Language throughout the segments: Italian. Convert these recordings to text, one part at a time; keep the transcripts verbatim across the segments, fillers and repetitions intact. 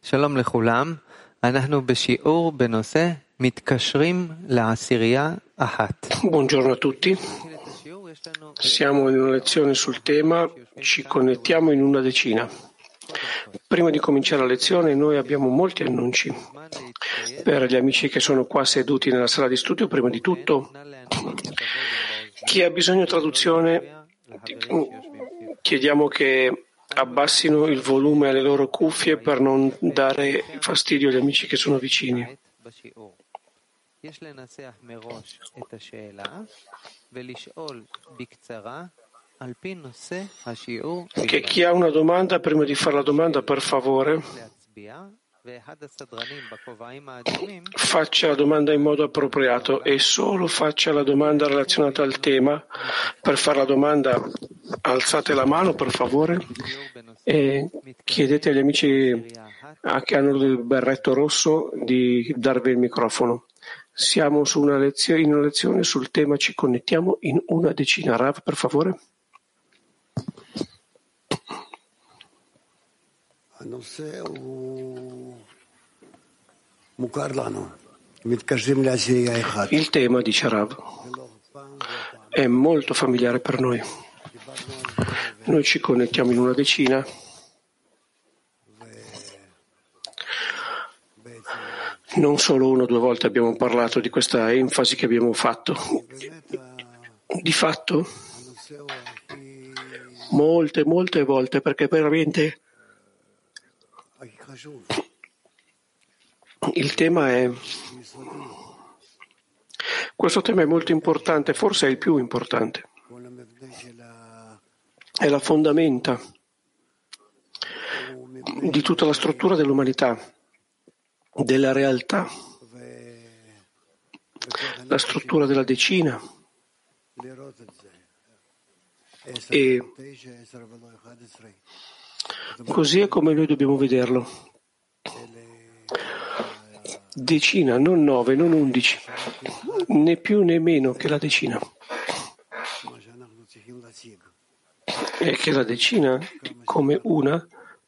שלום לכולם, אנחנו בשיעור בנושא מתקשרים לעשירייה אחת. Buongiorno a tutti. Siamo in una lezione sul tema ci connettiamo in una decina. Prima di cominciare la lezione noi abbiamo molti annunci. Per gli amici che sono qua seduti nella sala di studio, prima di tutto, chi ha bisogno di traduzione, chiediamo che abbassino il volume alle loro cuffie per non dare fastidio agli amici che sono vicini. Che chi ha una domanda, prima di fare la domanda, per favore, faccia la domanda in modo appropriato e solo faccia la domanda relazionata al tema. Per fare la domanda alzate la mano, per favore, e chiedete agli amici che hanno il berretto rosso di darvi il microfono. Siamo su una lezione, in una lezione sul tema ci connettiamo in una decina. Rav, per favore. Il tema, dice Rav, è molto familiare per noi. Noi ci connettiamo in una decina non solo una o due volte abbiamo parlato di questa enfasi che abbiamo fatto. Di fatto, molte, molte volte, perché veramente il tema è questo tema è molto importante, forse è il più importante, è la fondamenta di tutta la struttura dell'umanità, della realtà, la struttura della decina. E così è come noi dobbiamo vederlo. Decina, non nove, non undici, né più né meno che la decina. E che la decina come una,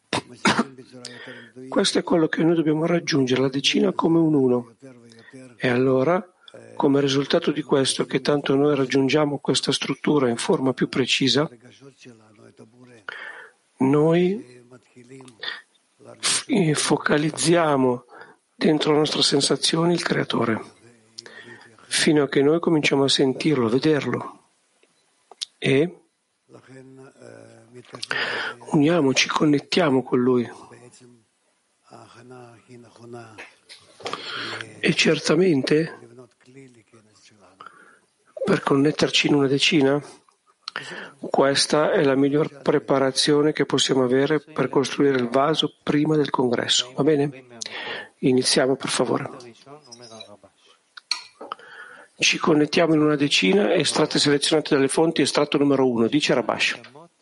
questo è quello che noi dobbiamo raggiungere, la decina come un uno. E allora, come risultato di questo, che tanto noi raggiungiamo questa struttura in forma più precisa, noi focalizziamo dentro le nostre sensazioni il Creatore, fino a che noi cominciamo a sentirlo, a vederlo. E uniamoci, connettiamo con Lui. E certamente, per connetterci in una decina, questa è la miglior preparazione che possiamo avere per costruire il vaso prima del congresso. Va bene? Iniziamo, per favore. Ci connettiamo in una decina, estratte selezionate dalle fonti, estratto numero uno, dice Rabash.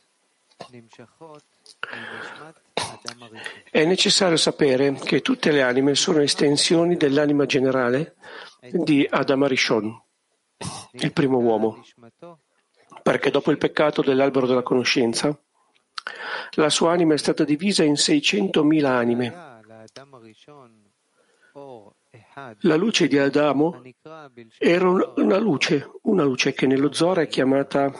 È necessario sapere che tutte le anime sono estensioni dell'anima generale di Adam Arishon, il primo uomo, perché dopo il peccato dell'albero della conoscenza, la sua anima è stata divisa in seicentomila anime. La luce di Adamo era una luce, una luce che nello Zohar è chiamata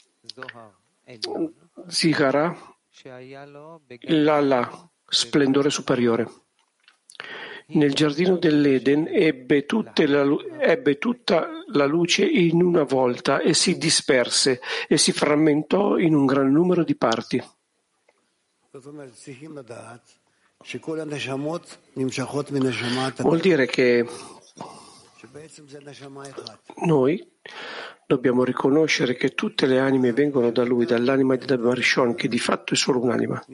Zihara, l'Allah, splendore superiore. Nel giardino dell'Eden ebbe, tutte la, ebbe tutta la luce in una volta e si disperse e si frammentò in un gran numero di parti. Vuol dire che noi dobbiamo riconoscere che tutte le anime vengono da Lui, dall'anima di Adam Arishon, che di fatto è solo un'anima.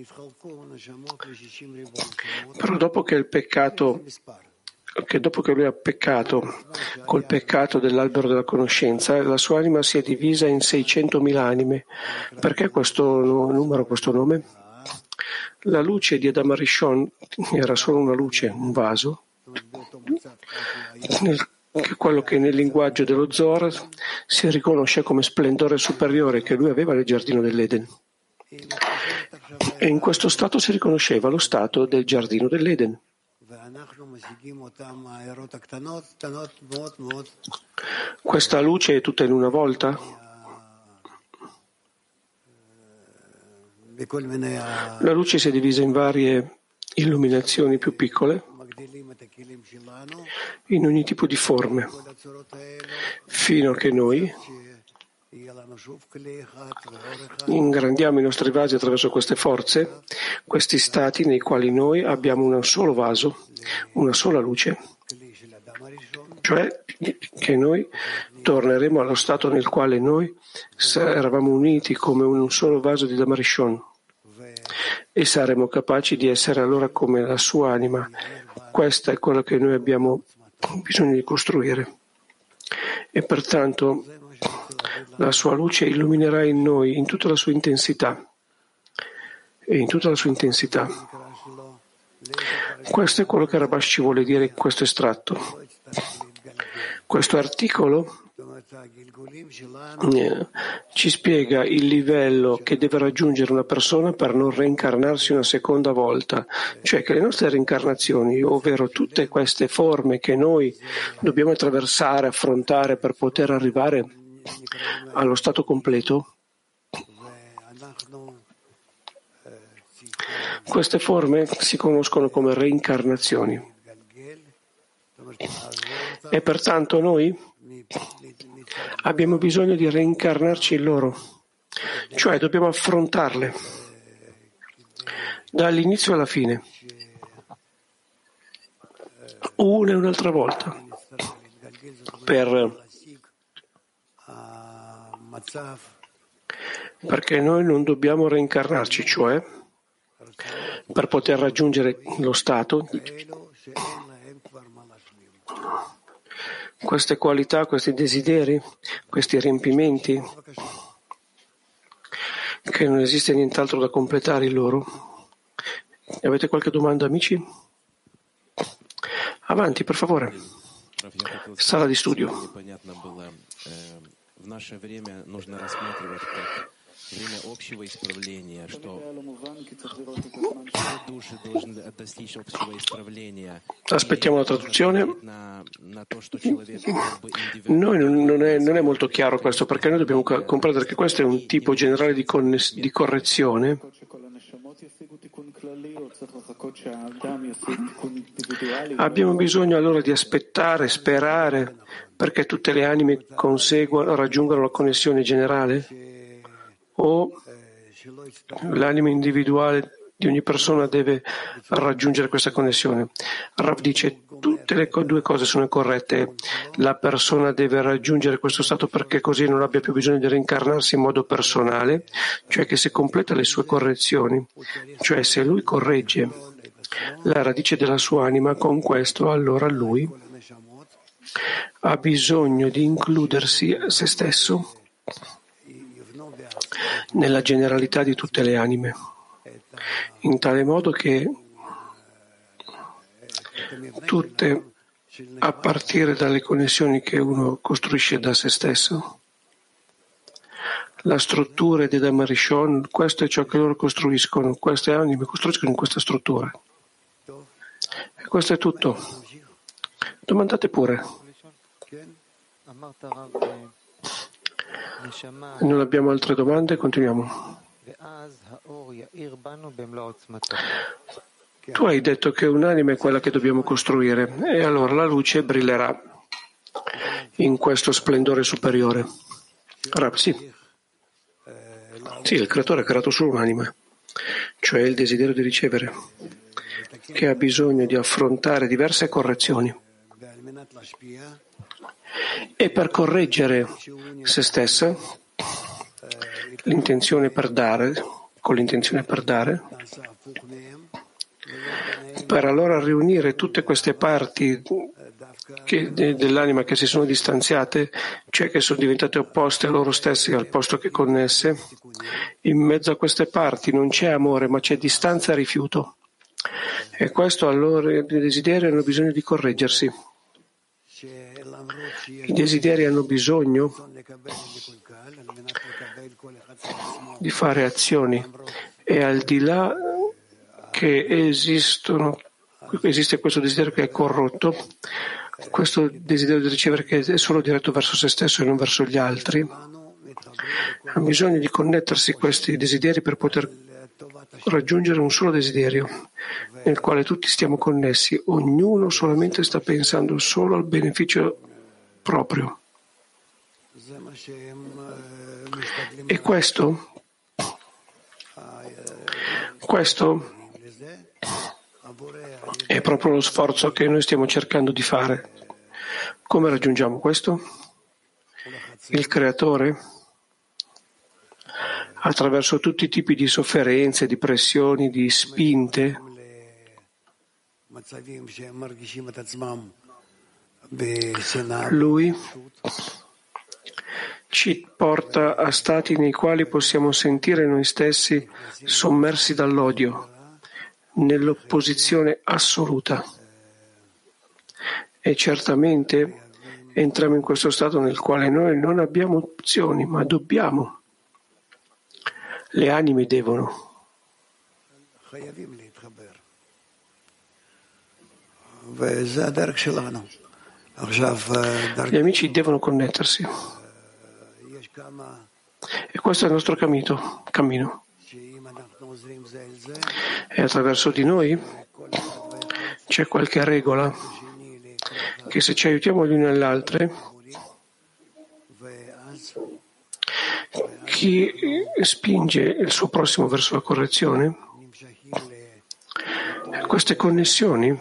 Però dopo che il peccato, che dopo che Lui ha peccato col peccato dell'albero della conoscenza, la sua anima si è divisa in seicentomila anime. Perché questo numero, questo nome? La luce di Adam Arishon era solo una luce, un vaso, nel che quello che nel linguaggio dello Zohar si riconosce come splendore superiore che lui aveva nel giardino dell'Eden. E in questo stato si riconosceva lo stato del giardino dell'Eden. Questa luce è tutta in una volta. La luce si è divisa in varie illuminazioni più piccole, in ogni tipo di forme, fino a che noi ingrandiamo i nostri vasi attraverso queste forze, questi stati nei quali noi abbiamo un solo vaso, una sola luce, cioè che noi torneremo allo stato nel quale noi eravamo uniti come un solo vaso di Damarishon e saremo capaci di essere allora come la sua anima. Questa è quello che noi abbiamo bisogno di costruire e pertanto la sua luce illuminerà in noi in tutta la sua intensità e in tutta la sua intensità. Questo è quello che Rabash ci vuole dire in questo estratto. Questo articolo eh, ci spiega il livello che deve raggiungere una persona per non reincarnarsi una seconda volta, cioè che le nostre reincarnazioni, ovvero tutte queste forme che noi dobbiamo attraversare, affrontare per poter arrivare allo stato completo, queste forme si conoscono come reincarnazioni. E pertanto noi abbiamo bisogno di reincarnarci in loro, cioè dobbiamo affrontarle dall'inizio alla fine, una e un'altra volta, per, perché noi non dobbiamo reincarnarci, cioè per poter raggiungere lo stato, queste qualità, questi desideri, questi riempimenti, che non esiste nient'altro da completare in loro. Avete qualche domanda, amici? Avanti, per favore. Sala di studio. Время общего исправления, что души должны достичь общего исправления. Aspettiamo la traduzione. Noi non, non, è, non è molto chiaro questo, perché noi dobbiamo comprendere che questo è un tipo generale di, conness, di correzione. Abbiamo bisogno allora di aspettare, sperare, perché tutte le anime conseguano, raggiungano la connessione generale? O l'anima individuale di ogni persona deve raggiungere questa connessione? Rav dice tutte le due cose sono corrette. La persona deve raggiungere questo stato perché così non abbia più bisogno di reincarnarsi in modo personale, cioè che se completa le sue correzioni, cioè se lui corregge la radice della sua anima, con questo allora lui ha bisogno di includersi a se stesso nella generalità di tutte le anime, in tale modo che tutte, a partire dalle connessioni che uno costruisce da se stesso, la struttura di Damarishon, questo è ciò che loro costruiscono, queste anime costruiscono in questa struttura. E questo è tutto. Domandate pure. Non abbiamo altre domande, continuiamo. Tu hai detto che un'anima è quella che dobbiamo costruire e allora la luce brillerà in questo splendore superiore. Rav, sì. Sì, il creatore ha creato solo un'anima, cioè il desiderio di ricevere, che ha bisogno di affrontare diverse correzioni. E per correggere se stessa, l'intenzione per dare, con l'intenzione per dare, per allora riunire tutte queste parti che, de, dell'anima che si sono distanziate, cioè che sono diventate opposte a loro stesse al posto che connesse, in mezzo a queste parti non c'è amore ma c'è distanza e rifiuto. E questo allora i desideri hanno bisogno di correggersi. I desideri hanno bisogno di fare azioni E al di là che esistono, esiste questo desiderio che è corrotto, questo desiderio di ricevere che è solo diretto verso se stesso e non verso gli altri, ha bisogno di connettersi questi desideri per poter raggiungere un solo desiderio nel quale tutti stiamo connessi, ognuno solamente sta pensando solo al beneficio proprio. E questo, questo è proprio lo sforzo che noi stiamo cercando di fare. Come raggiungiamo questo? Il Creatore, attraverso tutti i tipi di sofferenze, di pressioni, di spinte, Lui ci porta a stati nei quali possiamo sentire noi stessi sommersi dall'odio, nell'opposizione assoluta. E certamente entriamo in questo stato nel quale noi non abbiamo opzioni, ma dobbiamo. Le anime devono. Gli amici devono connettersi. E questo è il nostro cammino. cammino. E attraverso di noi c'è qualche regola che se ci aiutiamo gli uni agli altri, chi spinge il suo prossimo verso la correzione, queste connessioni,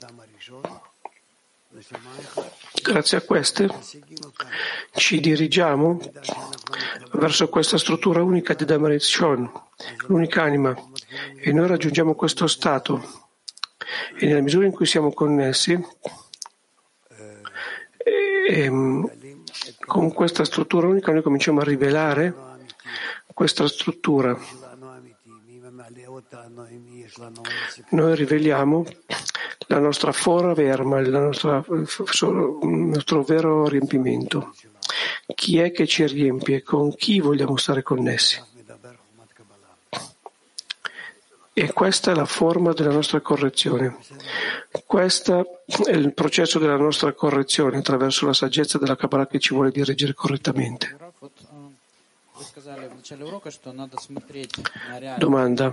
grazie a queste, ci dirigiamo verso questa struttura unica di Dhamma-Rishon, l'unica anima, e noi raggiungiamo questo stato. E nella misura in cui siamo connessi, e, con questa struttura unica noi cominciamo a rivelare questa struttura. Noi riveliamo la nostra fora verma, la nostra, il nostro vero riempimento. Chi è che ci riempie? Con chi vogliamo stare connessi? E questa è la forma della nostra correzione. Questo è il processo della nostra correzione attraverso la saggezza della Kabbalah che ci vuole dirigere correttamente. Domanda.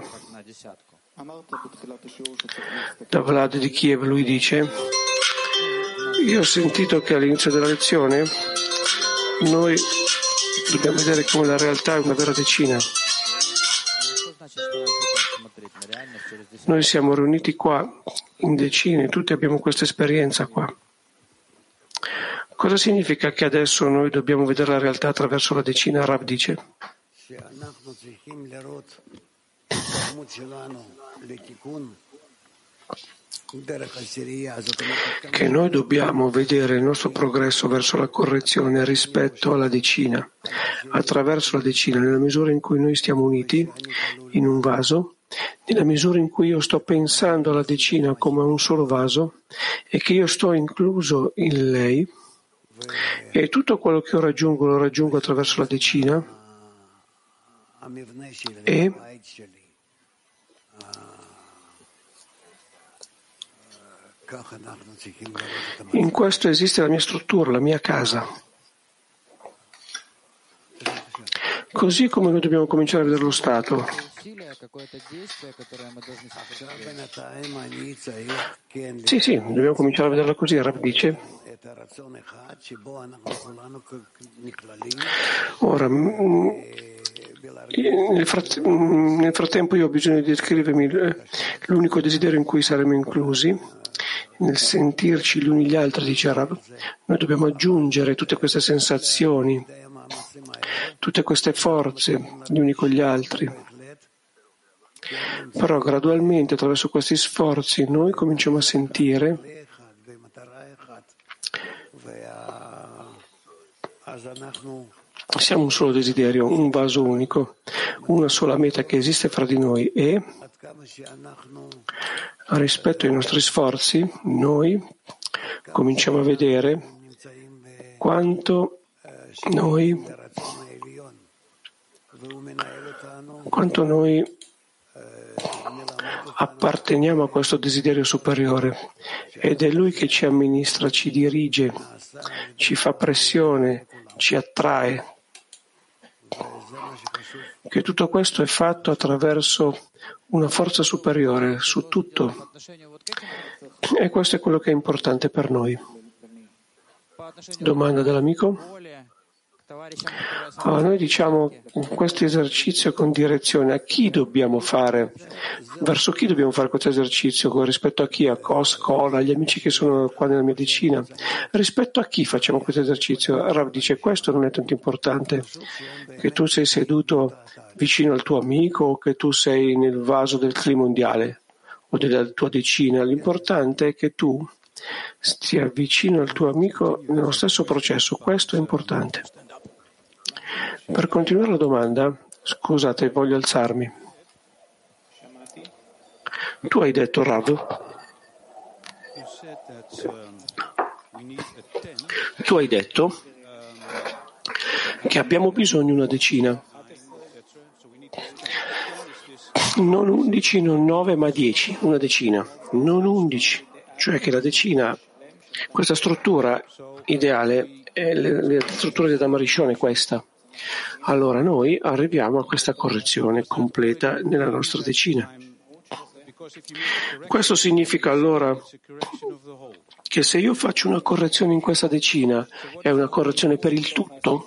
Da Vlad di Kiev, lui dice: io ho sentito che all'inizio della lezione noi dobbiamo vedere come la realtà è una vera decina. Noi siamo riuniti qua in decine, tutti abbiamo questa esperienza qua. Cosa significa che adesso noi dobbiamo vedere la realtà attraverso la decina? Rav dice che noi dobbiamo vedere il nostro progresso verso la correzione rispetto alla decina, attraverso la decina, nella misura in cui noi stiamo uniti in un vaso, nella misura in cui io sto pensando alla decina come un solo vaso e che io sto incluso in lei, e tutto quello che io raggiungo lo raggiungo attraverso la decina, e in questo esiste la mia struttura, la mia casa. Così come noi dobbiamo cominciare a vedere lo Stato. Sì, sì, dobbiamo cominciare a vederla così. Rav dice: ora, nel, frat- nel frattempo io ho bisogno di descrivermi l'unico desiderio in cui saremo inclusi, nel sentirci gli uni gli altri, dice Rav. Noi dobbiamo aggiungere tutte queste sensazioni, tutte queste forze gli uni con gli altri. Però gradualmente attraverso questi sforzi noi cominciamo a sentire siamo un solo desiderio, un vaso unico, una sola meta che esiste fra di noi, e rispetto ai nostri sforzi noi cominciamo a vedere quanto noi quanto noi apparteniamo a questo desiderio superiore ed è Lui che ci amministra, ci dirige, ci fa pressione, ci attrae. Che tutto questo è fatto attraverso una forza superiore su tutto. E questo è quello che è importante per noi. Domanda dell'amico? Allora, noi diciamo questo esercizio con direzione. A chi dobbiamo fare? Verso chi dobbiamo fare questo esercizio? Con rispetto a chi? A Cos, Cola, agli amici che sono qua nella mia decina? Rispetto a chi facciamo questo esercizio? Rav dice questo non è tanto importante. Che tu sei seduto vicino al tuo amico o che tu sei nel vaso del clima mondiale o della tua decina. L'importante è che tu stia vicino al tuo amico nello stesso processo. Questo è importante. Per continuare la domanda, scusate, voglio alzarmi. Tu hai detto, Rav, tu hai detto che abbiamo bisogno di una decina. Non undici, non nove, ma dieci, una decina. Non undici, cioè che la decina, questa struttura ideale, è la struttura di Adam Rishon è questa. Allora noi arriviamo a questa correzione completa nella nostra decina. Questo significa allora che se io faccio una correzione in questa decina è una correzione per il tutto?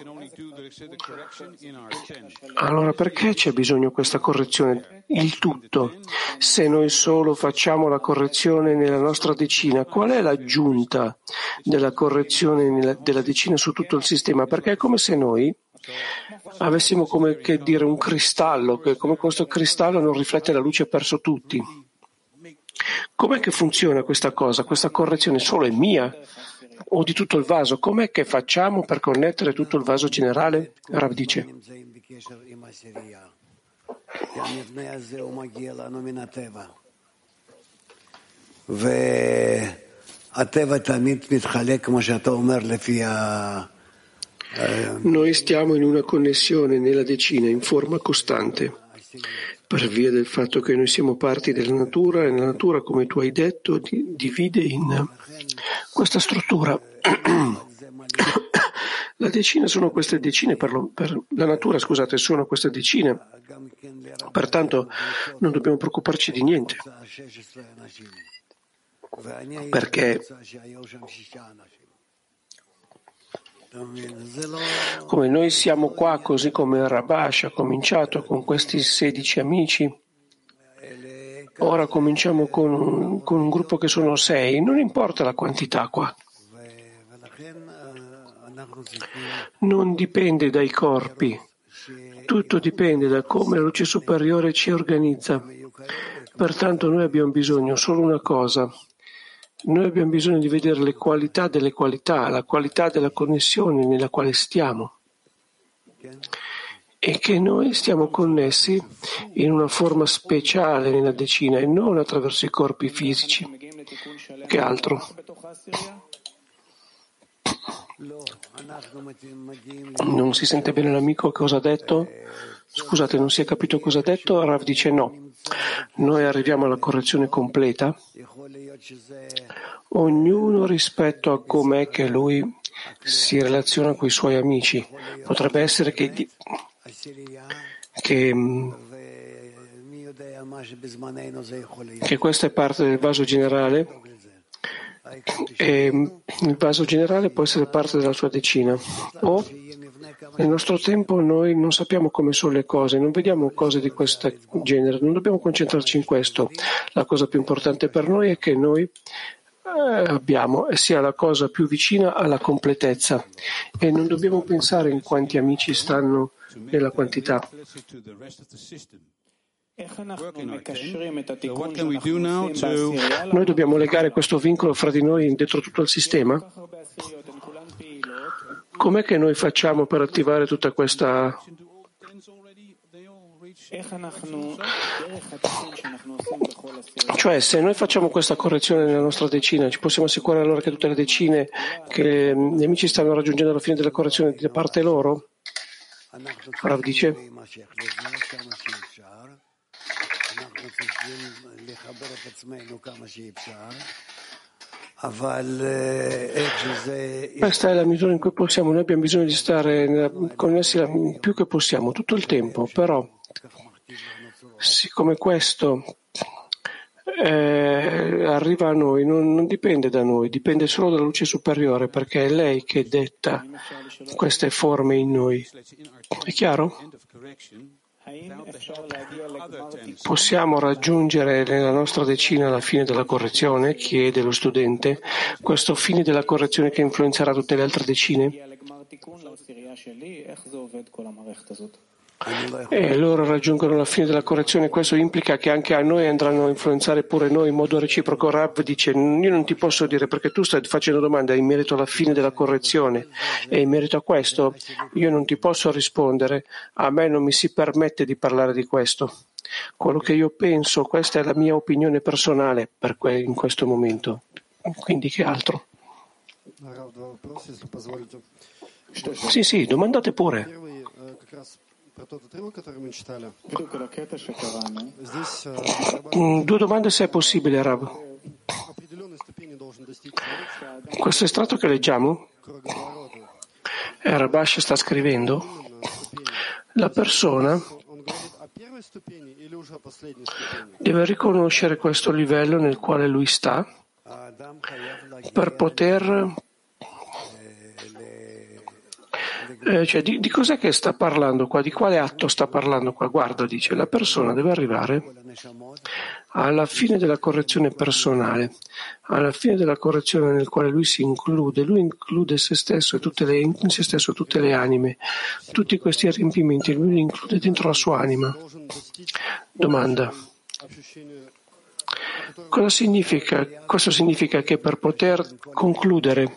Allora perché c'è bisogno di questa correzione? Il tutto. Se noi solo facciamo la correzione nella nostra decina, qual è l'aggiunta della correzione nella, della decina su tutto il sistema? Perché è come se noi avessimo come che dire un cristallo, che come questo cristallo non riflette la luce verso tutti. Com'è che funziona questa cosa? Questa correzione solo è mia o di tutto il vaso? Com'è che facciamo per connettere tutto il vaso generale? Rav dice. Noi stiamo in una connessione nella decina in forma costante, per via del fatto che noi siamo parti della natura e la natura, come tu hai detto, divide in questa struttura. La decina sono queste decine, per, lo, per la natura, scusate, sono queste decine, pertanto non dobbiamo preoccuparci di niente, perché come noi siamo qua, così come Rabash ha cominciato con questi sedici amici, ora cominciamo con un, con un gruppo che sono sei, non importa la quantità qua. Non dipende dai corpi, tutto dipende da come la luce superiore ci organizza. Pertanto noi abbiamo bisogno solo una cosa. Noi abbiamo bisogno di vedere le qualità delle qualità, la qualità della connessione nella quale stiamo e che noi stiamo connessi in una forma speciale nella decina e non attraverso i corpi fisici. Che altro? Non si sente bene l'amico cosa ha detto? Scusate, non si è capito cosa ha detto? Rav dice no. Noi arriviamo alla correzione completa, ognuno rispetto a com'è che lui si relaziona con i suoi amici. Potrebbe essere che, che, che questa è parte del vaso generale e il vaso generale può essere parte della sua decina. O nel nostro tempo noi non sappiamo come sono le cose, non vediamo cose di questo genere, non dobbiamo concentrarci in questo. La cosa più importante per noi è che noi eh, abbiamo e sia la cosa più vicina alla completezza e non dobbiamo pensare in quanti amici stanno nella quantità. Noi dobbiamo legare questo vincolo fra di noi dentro tutto il sistema? Com'è che noi facciamo per attivare tutta questa... Cioè, se noi facciamo questa correzione nella nostra decina, ci possiamo assicurare allora che tutte le decine che gli amici stanno raggiungendo alla fine della correzione da parte loro? Rav dice... Questa è la misura in cui possiamo, noi abbiamo bisogno di stare connessi il più che possiamo, tutto il tempo, però siccome questo eh, arriva a noi, non, non dipende da noi, dipende solo dalla luce superiore, perché è lei che detta queste forme in noi. È chiaro? Possiamo raggiungere nella nostra decina la fine della correzione, chiede lo studente, questo fine della correzione che influenzerà tutte le altre decine? E loro raggiungono la fine della correzione, questo implica che anche a noi andranno a influenzare pure noi in modo reciproco. Rav dice, io non ti posso dire perché tu stai facendo domande in merito alla fine della correzione e in merito a questo io non ti posso rispondere, a me non mi si permette di parlare di questo. Quello che io penso, questa è la mia opinione personale per que- in questo momento, quindi che altro? Sì, sì, domandate pure. Due domande se è possibile, Rav. Questo estratto che leggiamo, Rabash sta scrivendo, la persona deve riconoscere questo livello nel quale lui sta per poter Eh, cioè, di, di cos'è che sta parlando qua? Di quale atto sta parlando qua? Guarda, dice, la persona deve arrivare alla fine della correzione personale, alla fine della correzione nel quale lui si include, lui include se stesso e tutte le, in se stesso tutte le anime, tutti questi riempimenti, lui li include dentro la sua anima. Domanda. Cosa significa? Questo significa che per poter concludere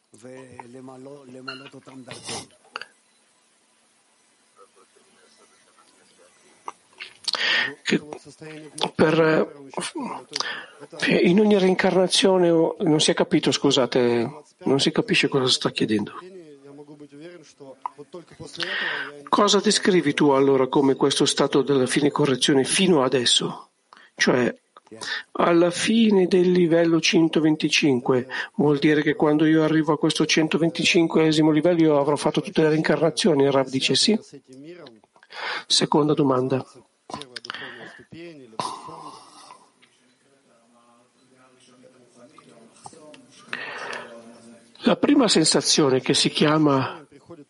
che per, in ogni reincarnazione non si è capito, scusate, non si capisce cosa sta chiedendo. Cosa descrivi tu allora come questo stato della fine correzione fino adesso? Cioè, alla fine del livello centoventicinque, vuol dire che quando io arrivo a questo centoventicinquesimo livello io avrò fatto tutte le reincarnazioni? Il Rav dice sì. Seconda domanda. La prima sensazione che si chiama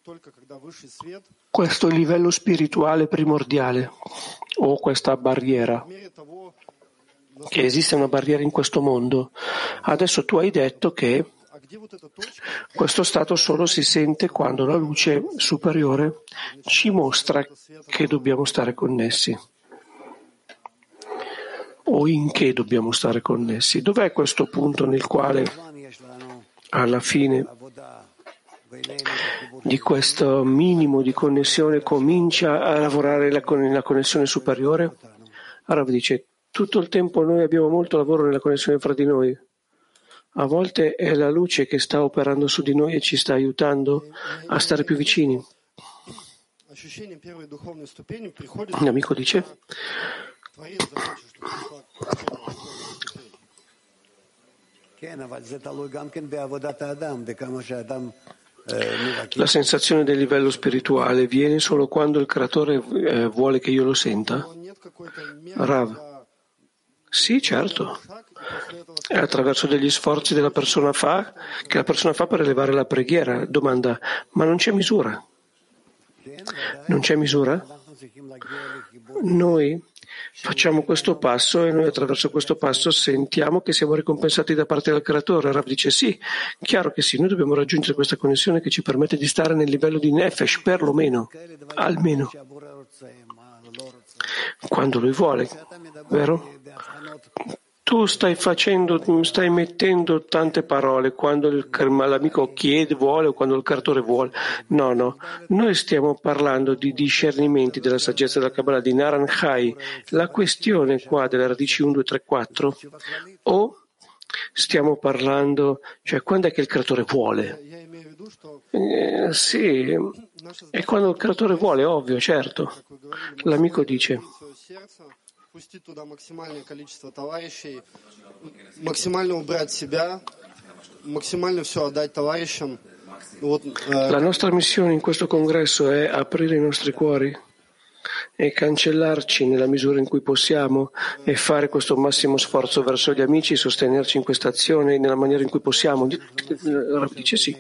questo livello spirituale primordiale o questa barriera, che esiste una barriera in questo mondo. Adesso tu hai detto che questo stato solo si sente quando la luce superiore ci mostra che dobbiamo stare connessi. O in che dobbiamo stare connessi? Dov'è questo punto nel quale alla fine di questo minimo di connessione comincia a lavorare la, con la connessione superiore? Allora dice, tutto il tempo noi abbiamo molto lavoro nella connessione fra di noi. A volte è la luce che sta operando su di noi e ci sta aiutando a stare più vicini. L'amico dice, la sensazione del livello spirituale viene solo quando il creatore eh, vuole che io lo senta? Rav. Sì, certo. È attraverso degli sforzi della persona fa, che la persona fa per elevare la preghiera. Domanda, ma non c'è misura? Non c'è misura? Noi facciamo questo passo e noi attraverso questo passo sentiamo che siamo ricompensati da parte del creatore. Rav dice sì, chiaro che sì, noi dobbiamo raggiungere questa connessione che ci permette di stare nel livello di Nefesh, perlomeno, almeno, quando lui vuole, vero? Tu stai facendo, stai mettendo tante parole quando il, l'amico chiede, vuole o quando il creatore vuole. No, no. Noi stiamo parlando di discernimenti della saggezza della Kabbalah di Naran Chai. La questione qua delle radici uno, due, tre, quattro o stiamo parlando, cioè quando è che il creatore vuole? Eh, sì, è quando il creatore vuole, ovvio, certo. L'amico dice La nostra missione in questo congresso è aprire i nostri cuori e cancellarci nella misura in cui possiamo e fare questo massimo sforzo verso gli amici, sostenerci in questa azione nella maniera in cui possiamo. Rav dice sì.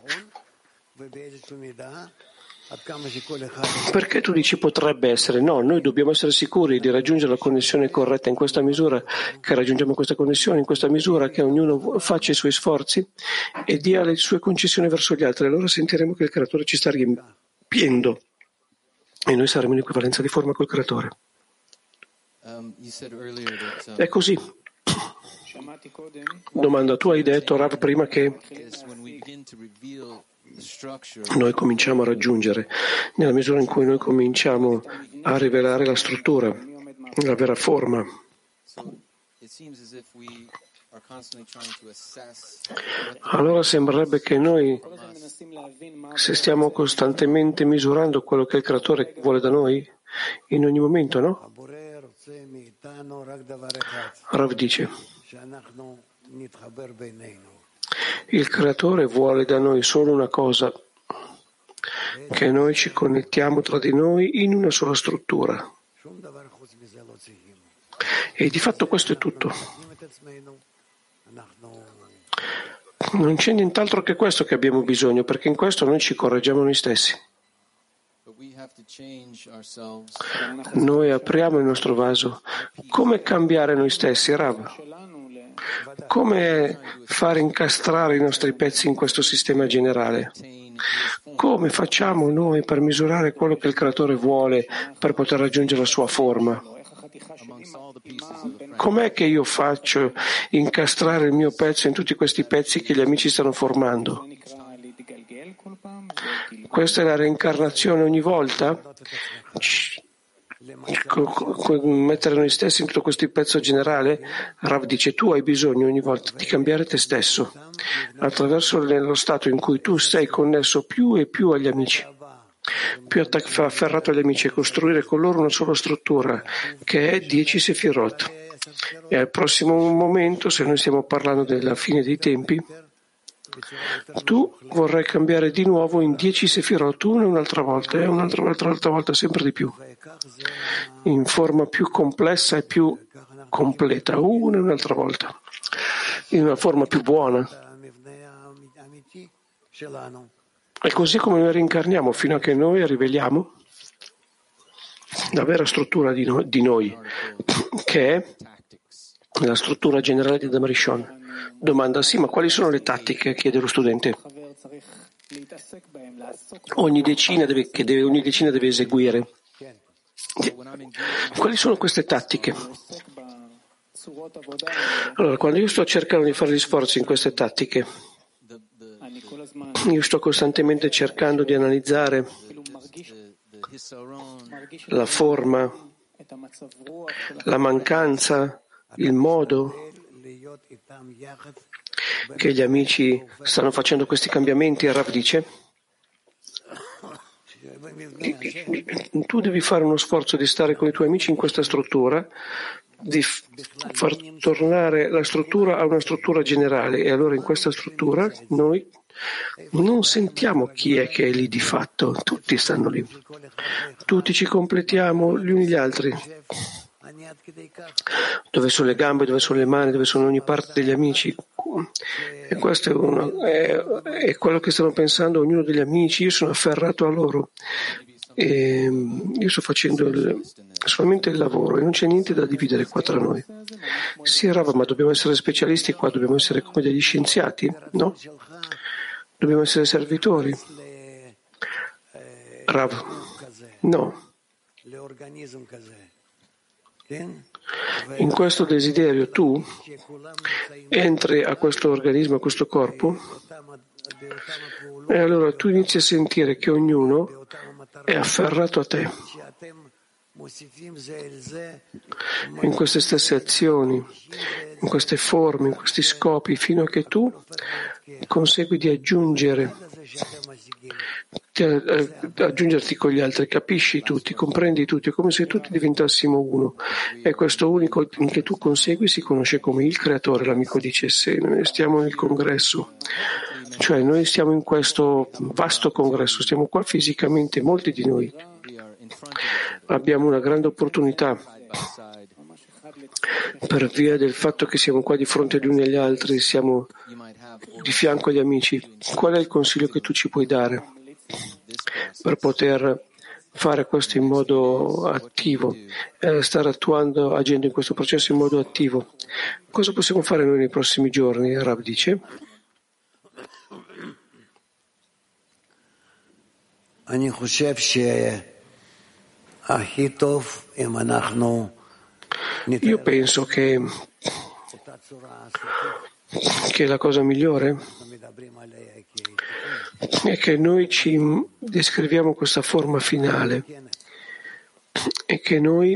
Perché tu dici potrebbe essere? No, noi dobbiamo essere sicuri di raggiungere la connessione corretta in questa misura, che raggiungiamo questa connessione in questa misura, che ognuno faccia i suoi sforzi e dia le sue concessioni verso gli altri. Allora sentiremo che il Creatore ci sta riempiendo e noi saremo in equivalenza di forma col Creatore. È così. Domanda, tu hai detto, Rav, prima che noi cominciamo a raggiungere, nella misura in cui noi cominciamo a rivelare la struttura, la vera forma. Allora sembrerebbe che noi, se stiamo costantemente misurando quello che il Creatore vuole da noi, in ogni momento, no? Rav dice, il Creatore vuole da noi solo una cosa, che noi ci connettiamo tra di noi in una sola struttura. E di fatto questo è tutto. Non c'è nient'altro che questo che abbiamo bisogno, perché in questo noi ci correggiamo noi stessi. Noi apriamo il nostro vaso. Come cambiare noi stessi, Rav? Come fare incastrare i nostri pezzi in questo sistema generale? Come facciamo noi per misurare quello che il Creatore vuole per poter raggiungere la sua forma? Com'è che io faccio incastrare il mio pezzo in tutti questi pezzi che gli amici stanno formando? Questa è la reincarnazione ogni volta? Mettere noi stessi in tutto questo pezzo generale? Rav dice, tu hai bisogno ogni volta di cambiare te stesso attraverso lo stato in cui tu sei connesso più e più agli amici, più afferrato agli amici, e costruire con loro una sola struttura che è dieci sefirot. E al prossimo momento, se noi stiamo parlando della fine dei tempi, tu vorrai cambiare di nuovo in dieci sefirot, una e un'altra volta, e un'altra, un'altra, un'altra volta, sempre di più, in forma più complessa e più completa, una e un'altra volta, in una forma più buona. È così come noi reincarniamo, fino a che noi riveliamo la vera struttura di, no, di noi, che è la struttura generale di Adam Rishon. Domanda, sì, ma quali sono le tattiche? Chiede lo studente. Ogni decina deve, che deve, ogni decina deve eseguire. Quali sono queste tattiche? Allora, quando io sto cercando di fare gli sforzi in queste tattiche, io sto costantemente cercando di analizzare la forma, la mancanza, il modo che gli amici stanno facendo questi cambiamenti. E Rav dice, tu devi fare uno sforzo di stare con i tuoi amici in questa struttura, di far tornare la struttura a una struttura generale, e allora in questa struttura noi non sentiamo chi è che è lì di fatto, tutti stanno lì, tutti ci completiamo gli uni gli altri. Dove sono le gambe, dove sono le mani, dove sono ogni parte degli amici. E questo è, uno, è, è quello che stanno pensando ognuno degli amici. Io sono afferrato a loro e io sto facendo il, solamente il lavoro e non c'è niente da dividere qua tra noi. Sì, Rav, ma dobbiamo essere specialisti qua, dobbiamo essere come degli scienziati, no? Dobbiamo essere servitori. Rav, no. In questo desiderio tu entri a questo organismo, a questo corpo, e allora tu inizi a sentire che ognuno è afferrato a te in queste stesse azioni, in queste forme, in questi scopi, fino a che tu consegui di aggiungere Ti, eh, aggiungerti con gli altri, capisci tutti, comprendi tutti, è come se tutti diventassimo uno. E questo unico che tu consegui si conosce come il creatore. L'amico dice: se noi stiamo nel congresso, cioè noi stiamo in questo vasto congresso, stiamo qua fisicamente, molti di noi abbiamo una grande opportunità per via del fatto che siamo qua di fronte agli uni agli altri, siamo di fianco agli amici. Qual è il consiglio che tu ci puoi dare per poter fare questo in modo attivo, eh, stare attuando, agendo in questo processo in modo attivo? Cosa possiamo fare noi nei prossimi giorni? Rav dice. Io penso che, che la cosa migliore è che noi ci descriviamo questa forma finale e che noi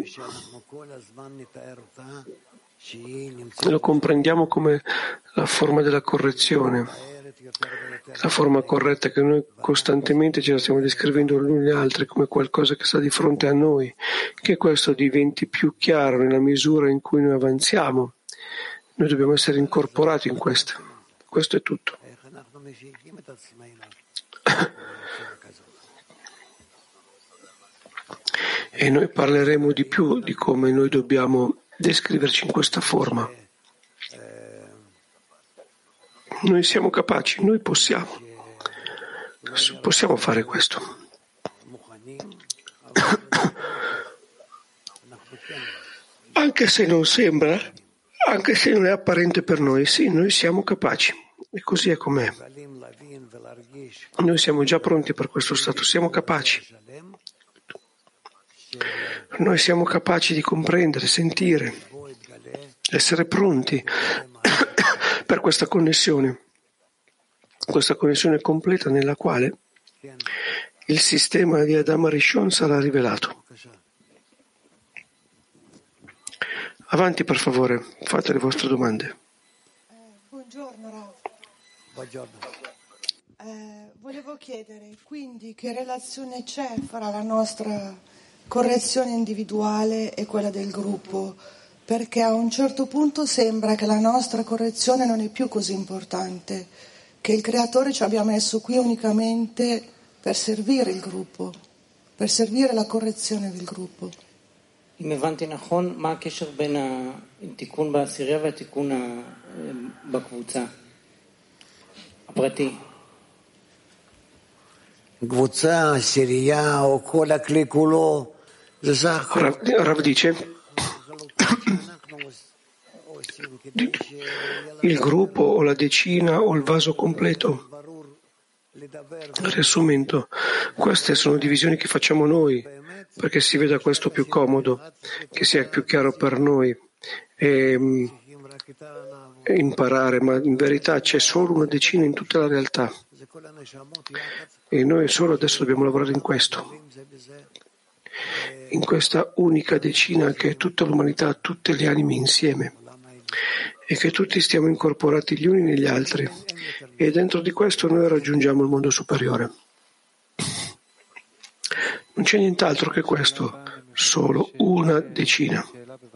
lo comprendiamo come la forma della correzione, la forma corretta, che noi costantemente ce la stiamo descrivendo gli uni agli altri come qualcosa che sta di fronte a noi, che questo diventi più chiaro nella misura in cui noi avanziamo. Noi dobbiamo essere incorporati in questo. Questo è tutto. E noi parleremo di più di come noi dobbiamo descriverci in questa forma. Noi siamo capaci, noi possiamo, possiamo fare questo. Anche se non sembra, anche se non è apparente per noi, sì, noi siamo capaci. E così è com'è. Noi siamo già pronti per questo stato, siamo capaci. Noi siamo capaci di comprendere, sentire, essere pronti per questa connessione, questa connessione completa nella quale il sistema di Adama Rishon sarà rivelato. Avanti, per favore, fate le vostre domande. Eh, buongiorno, Rav. Buongiorno. Eh, volevo chiedere, quindi, che relazione c'è fra la nostra correzione individuale e quella del gruppo? Perché a un certo punto sembra che la nostra correzione non è più così importante, che il Creatore ci abbia messo qui unicamente per servire il gruppo, per servire la correzione del gruppo. אם הבנתי נכון, מה הקשר בין התיקון בעשירייה והתיקון בקבוצה הפרטי? קבוצה, עשירייה או כל הכלי כולו, זה סך הכל. Rav dice, il gruppo o la decina o il vaso completo. Riassumendo, queste sono divisioni che facciamo noi perché si veda questo più comodo, che sia più chiaro per noi e, e imparare, ma in verità c'è solo una decina in tutta la realtà e noi solo adesso dobbiamo lavorare in questo, in questa unica decina che è tutta l'umanità, tutte le anime insieme, e che tutti stiamo incorporati gli uni negli altri, e dentro di questo noi raggiungiamo il mondo superiore. Non c'è nient'altro che questo, solo una decina.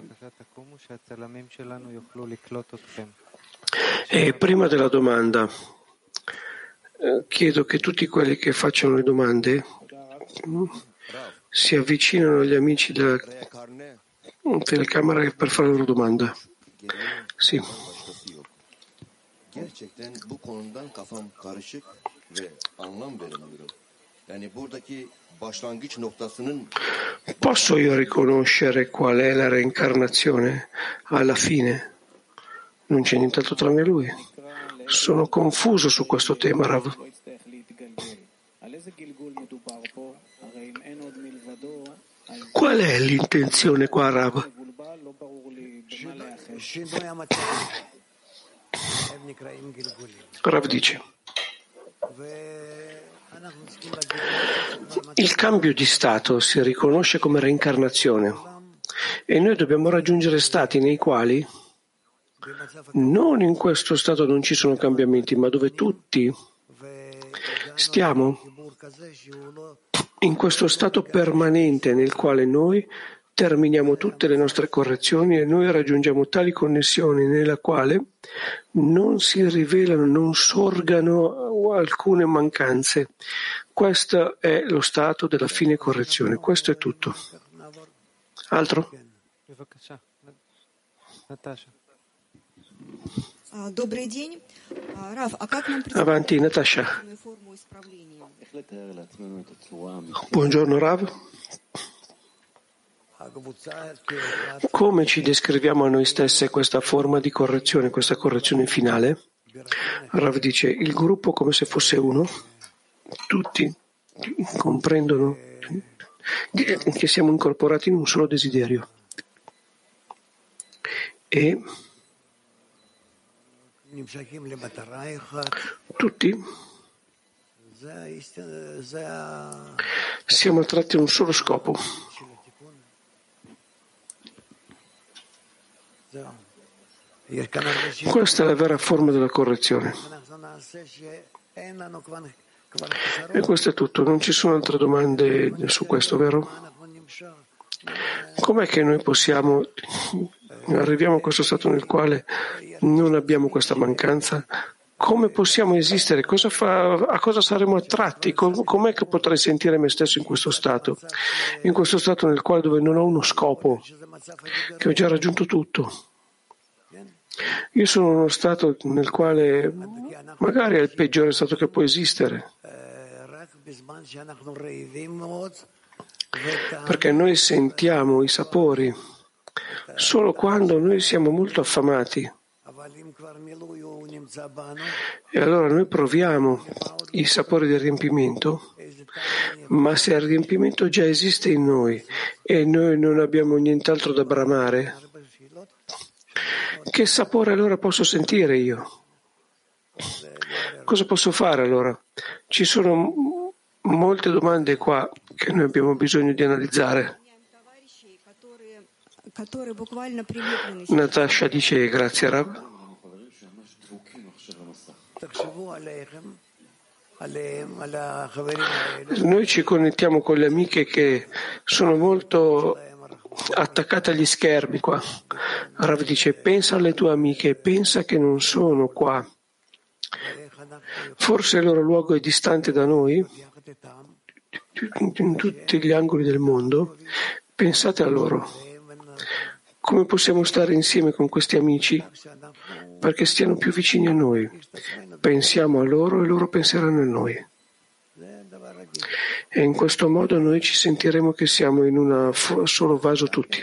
E prima della domanda, chiedo che tutti quelli che facciano le domande si avvicinano agli amici della telecamera per fare la loro domanda. Sì. Gerçekten bu konudan kafam karışık ve anlam veremiyorum. Yani buradaki başlangıç noktasının Posso io riconoscere qual è la reincarnazione alla fine? Non c'è nient'altro tranne lui. Sono confuso su questo tema, Rav. Qual è l'intenzione qua, Rav? Rav dice, il cambio di stato si riconosce come reincarnazione e noi dobbiamo raggiungere stati nei quali non in questo stato non ci sono cambiamenti, ma dove tutti stiamo in questo stato permanente nel quale noi terminiamo tutte le nostre correzioni e noi raggiungiamo tali connessioni nella quale non si rivelano, non sorgano alcune mancanze. Questo è lo stato della fine correzione. Questo è tutto. Altro? Avanti, Natasha. Buongiorno, Rav. Come ci descriviamo a noi stesse questa forma di correzione, questa correzione finale? Rav dice, il gruppo come se fosse uno, tutti comprendono che siamo incorporati in un solo desiderio. E tutti siamo attratti a un solo scopo. Questa è la vera forma della correzione. E questo è tutto, non ci sono altre domande su questo, vero? Com'è che noi possiamo, arriviamo a questo stato nel quale non abbiamo questa mancanza? Come possiamo esistere? Cosa fa, a cosa saremo attratti? Com, com'è che potrei sentire me stesso in questo stato? In questo stato nel quale dove non ho uno scopo, che ho già raggiunto tutto. Io sono in uno stato nel quale magari è il peggiore stato che può esistere. Perché noi sentiamo i sapori solo quando noi siamo molto affamati. E allora noi proviamo i sapori del riempimento, ma se il riempimento già esiste in noi e noi non abbiamo nient'altro da bramare, che sapore allora posso sentire io? Cosa posso fare allora? Ci sono molte domande qua che noi abbiamo bisogno di analizzare. Natasha dice grazie Rav. Noi ci connettiamo con le amiche che sono molto attaccate agli schermi qua. Rav dice pensa alle tue amiche, pensa che non sono qua. Forse il loro luogo è distante da noi, in tutti gli angoli del mondo. Pensate a loro. Come possiamo stare insieme con questi amici perché stiano più vicini a noi? Pensiamo a loro e loro penseranno a noi. E in questo modo noi ci sentiremo che siamo in un solo vaso tutti.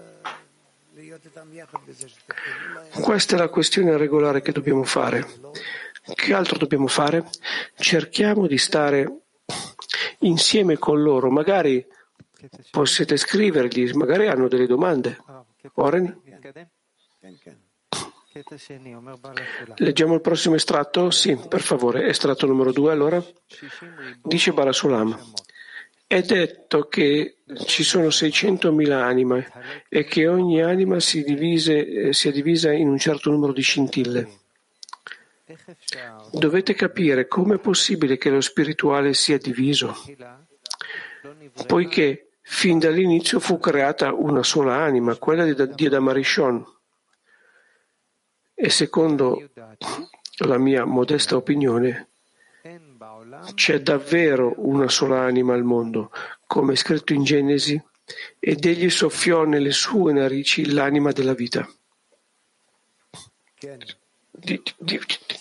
Questa è la questione regolare che dobbiamo fare. Che altro dobbiamo fare? Cerchiamo di stare insieme con loro. Magari potete scrivergli, magari hanno delle domande. Oreni? Leggiamo il prossimo estratto? Sì, per favore. Estratto numero due, allora. Dice Barasulam. È detto che ci sono seicentomila anime e che ogni anima si divise, sia divisa in un certo numero di scintille. Dovete capire come è possibile che lo spirituale sia diviso, poiché fin dall'inizio fu creata una sola anima, quella di Adam Arishon. E secondo la mia modesta opinione, c'è davvero una sola anima al mondo, come è scritto in Genesi, ed egli soffiò nelle sue narici l'anima della vita. Di, di, di.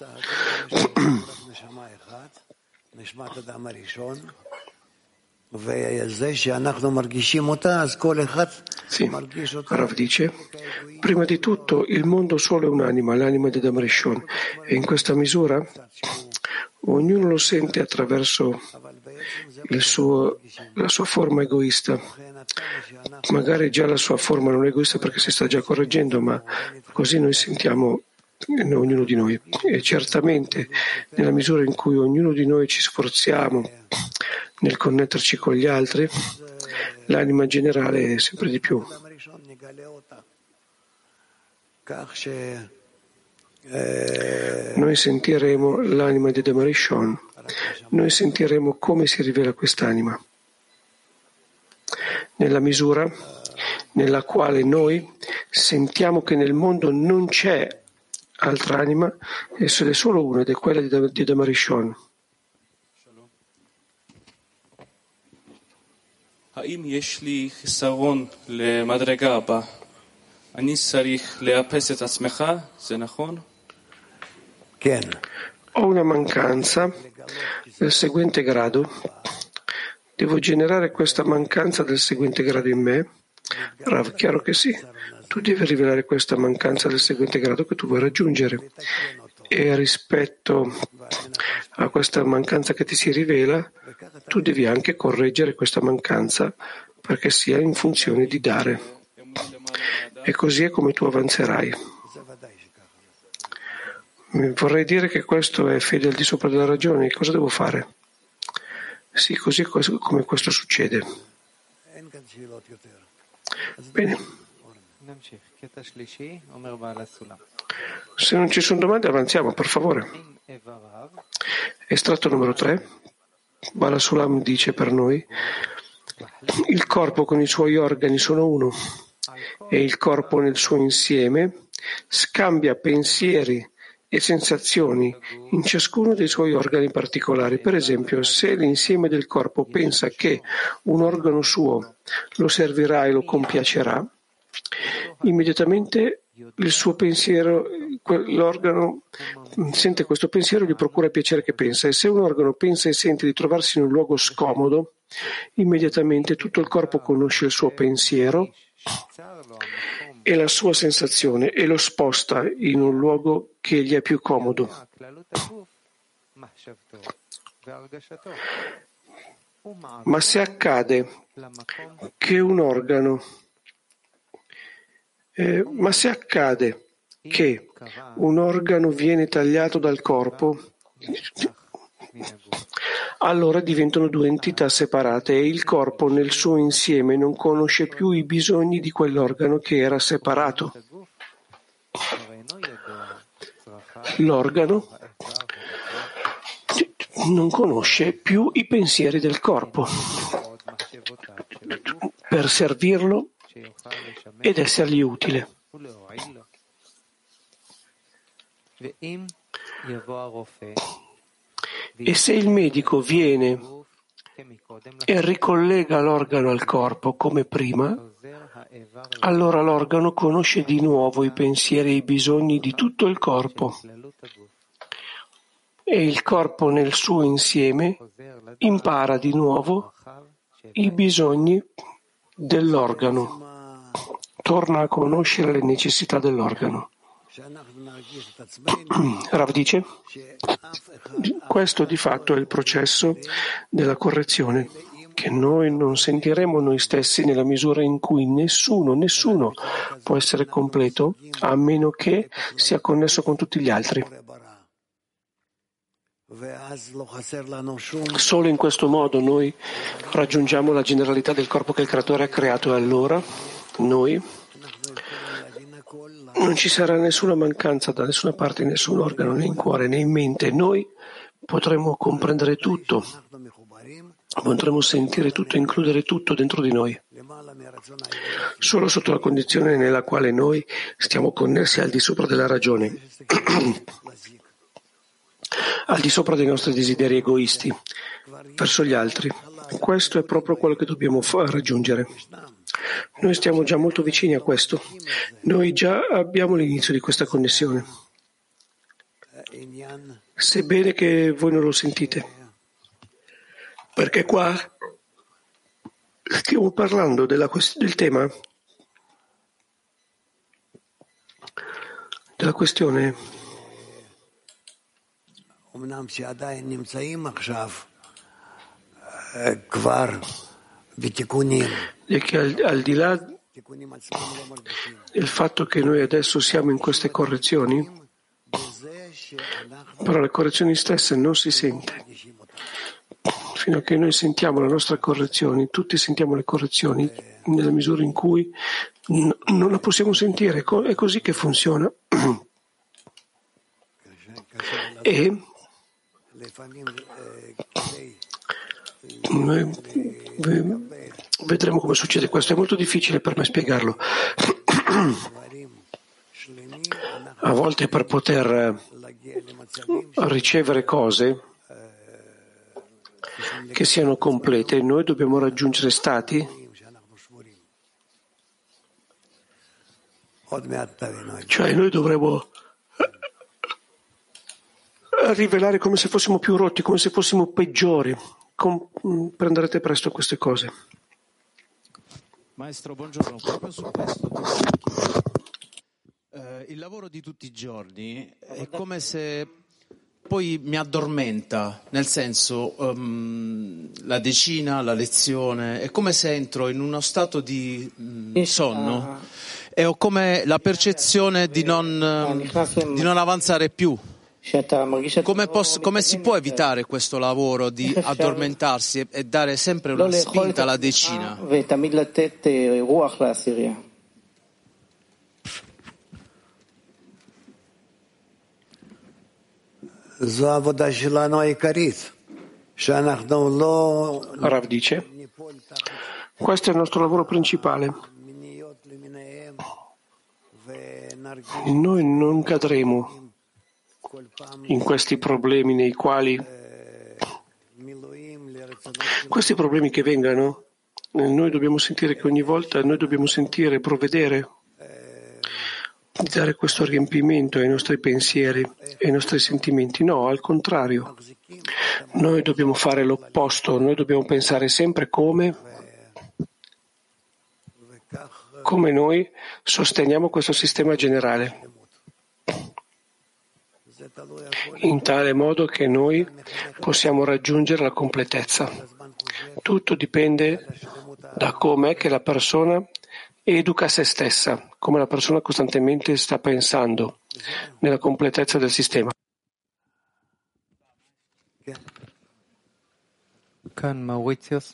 Sì, Rav dice, prima di tutto il mondo solo è un'anima, l'anima di Adam Rishon, e in questa misura ognuno lo sente attraverso il suo, la sua forma egoista. Magari già la sua forma non è egoista perché si sta già correggendo, ma così noi sentiamo ognuno di noi. E certamente nella misura in cui ognuno di noi ci sforziamo nel connetterci con gli altri, l'anima generale è sempre di più. Noi sentiremo l'anima di Adam Rishon noi sentiremo come si rivela quest'anima. Nella misura nella quale noi sentiamo che nel mondo non c'è altra anima, esso è solo uno ed è quella di Adam Rishon. האם יש לי חיסרון למדרגה הבאה? אני צריך לאפס את עצמך? זה נכון? כן. Ho una mancanza del seguente grado. Devo generare questa mancanza del seguente grado in me? Rav, chiaro che sì. Tu devi rivelare questa mancanza del seguente grado che tu vuoi raggiungere. E rispetto a questa mancanza che ti si rivela, tu devi anche correggere questa mancanza perché sia in funzione di dare. E così è come tu avanzerai. Vorrei dire che questo è fede al di sopra della ragione. Cosa devo fare? Sì, così è come questo succede. Bene. Se non ci sono domande avanziamo, per favore. Estratto numero tre. Bala Sulam dice per noi: il corpo con i suoi organi sono uno e il corpo nel suo insieme scambia pensieri e sensazioni in ciascuno dei suoi organi particolari. Per esempio, se l'insieme del corpo pensa che un organo suo lo servirà e lo compiacerà, immediatamente il suo pensiero, l'organo sente questo pensiero e gli procura il piacere che pensa. E se un organo pensa e sente di trovarsi in un luogo scomodo, immediatamente tutto il corpo conosce il suo pensiero e la sua sensazione e lo sposta in un luogo che gli è più comodo. Ma se accade che un organo eh, ma se accade che un organo viene tagliato dal corpo, allora diventano due entità separate e il corpo nel suo insieme non conosce più i bisogni di quell'organo che era separato. L'organo non conosce più i pensieri del corpo per servirlo ed essergli utile. E se il medico viene e ricollega l'organo al corpo come prima, allora l'organo conosce di nuovo i pensieri e i bisogni di tutto il corpo e il corpo nel suo insieme impara di nuovo i bisogni dell'organo, torna a conoscere le necessità dell'organo. Rav dice, questo di fatto è il processo della correzione, che noi non sentiremo noi stessi nella misura in cui nessuno, nessuno può essere completo a meno che sia connesso con tutti gli altri. Solo in questo modo noi raggiungiamo la generalità del corpo che il Creatore ha creato e allora noi non ci sarà nessuna mancanza da nessuna parte, in nessun organo, né in cuore, né in mente. Noi potremo comprendere tutto, potremo sentire tutto, includere tutto dentro di noi. Solo sotto la condizione nella quale noi stiamo connessi al di sopra della ragione, al di sopra dei nostri desideri egoisti verso gli altri. Questo è proprio quello che dobbiamo raggiungere. Noi stiamo già molto vicini a questo. Noi già abbiamo l'inizio di questa connessione. Sebbene che voi non lo sentite. Perché qua stiamo parlando della quest- del tema, della questione e che al, al di là del fatto che noi adesso siamo in queste correzioni, però le correzioni stesse non si sente. Fino a che noi sentiamo le nostre correzioni, tutti sentiamo le correzioni nella misura in cui n- non la possiamo sentire. È così che funziona. E Noi vedremo come succede questo. È molto difficile per me spiegarlo. A volte per poter ricevere cose che siano complete, noi dobbiamo raggiungere stati cioè noi dovremmo rivelare come se fossimo più rotti, come se fossimo peggiori. Comprenderete presto queste cose. Maestro, buongiorno. Proprio su questo eh, il lavoro di tutti i giorni è come se poi mi addormenta, nel senso um, la decina, la lezione, è come se entro in uno stato di um, sonno e ho come la percezione di non, di non avanzare più. Come, posso, come si può evitare questo lavoro di addormentarsi e, e dare sempre una spinta alla decina? Rav dice, questo è il nostro lavoro principale. Noi non cadremo in questi problemi nei quali questi problemi che vengano, noi dobbiamo sentire che ogni volta noi dobbiamo sentire, provvedere di dare questo riempimento ai nostri pensieri e ai nostri sentimenti. No, al contrario, noi dobbiamo fare l'opposto, noi dobbiamo pensare sempre come come noi sosteniamo questo sistema generale, in tale modo che noi possiamo raggiungere la completezza. Tutto dipende da come è che la persona educa se stessa, come la persona costantemente sta pensando nella completezza del sistema. Can Mauritius.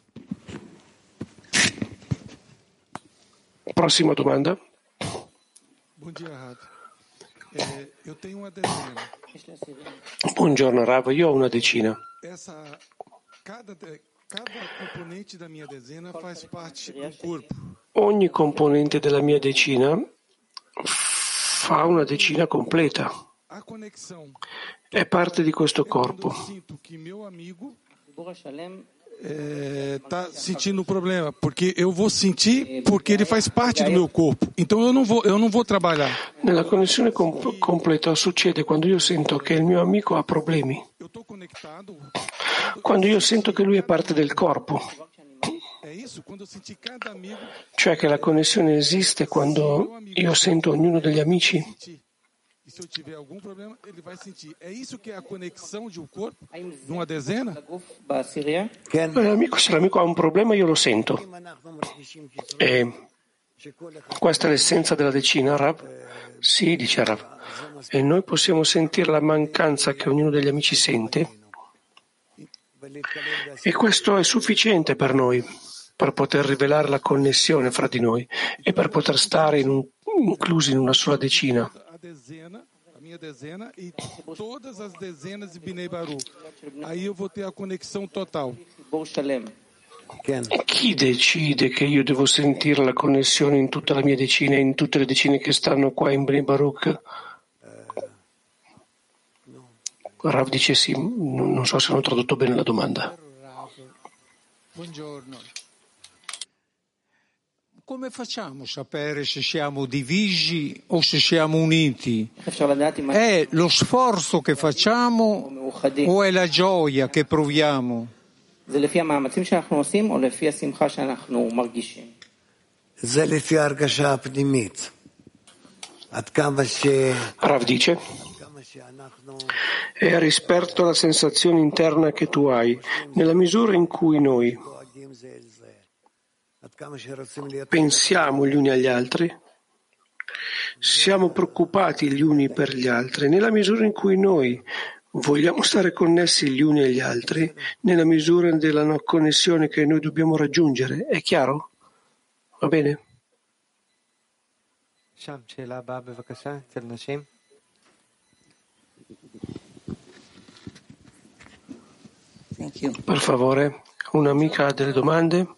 Prossima domanda. Buongiorno Rav. Eh, io tengo una decina. Buongiorno Rav, io ho una decina. Essa, cada, cada componente da mia decina faz parte do corpo. Ogni componente della mia decina fa una decina completa. A conexão. È parte di questo corpo. Sinto que meu amigo está sentindo um problema, porque eu vou sentir porque ele faz parte do meu corpo. Então eu não vou, eu não vou trabalhar. Nella connessione com- completa succede quando io sento che il mio amico ha problemi. Eu estou conectado. Quando io sento che lui è parte del corpo. É isso, quando eu senti cada amigo. Cioè che la connessione esiste quando io sento ognuno degli amici. E se eu tiver algum problema, ele vai sentir. É isso que é a conexão de um corpo, de uma dezena? L'amico, se l'amico ha un problema io lo sento. E questa è l'essenza della decina, Rav? Sì, dice Rav. E noi possiamo sentire la mancanza che ognuno degli amici sente. E questo è sufficiente per noi, per poter rivelare la connessione fra di noi e per poter stare in un, inclusi in una sola decina. A dezena, a minha dezena e todas as dezenas de Binei Baru. Aí eu vou ter a conexão total. Chi decide che io devo sentire la connessione in tutta la mia decina e in tutte le decine che stanno qua in Bnei Baruch? Rav dice sì, non so se hanno tradotto bene la domanda. Buongiorno. Come facciamo a sapere se siamo divisi o se siamo uniti? È lo sforzo che facciamo o è la gioia che proviamo? זה לפי המאמצים שאנחנו עושים או לפי השמחה שאנחנו מרגישים? זה לפי ההרגשה הפנימית. עד כמה ש... Rav dice, è rispetto alla sensazione interna che tu hai, nella misura in cui noi pensiamo gli uni agli altri, siamo preoccupati gli uni per gli altri, nella misura in cui noi vogliamo stare connessi gli uni agli altri, nella misura della no connessione che noi dobbiamo raggiungere. È chiaro? Va bene? שם שאלה הבאה בבקשה, אצל נשים. Per favore, un'amica ha delle domande?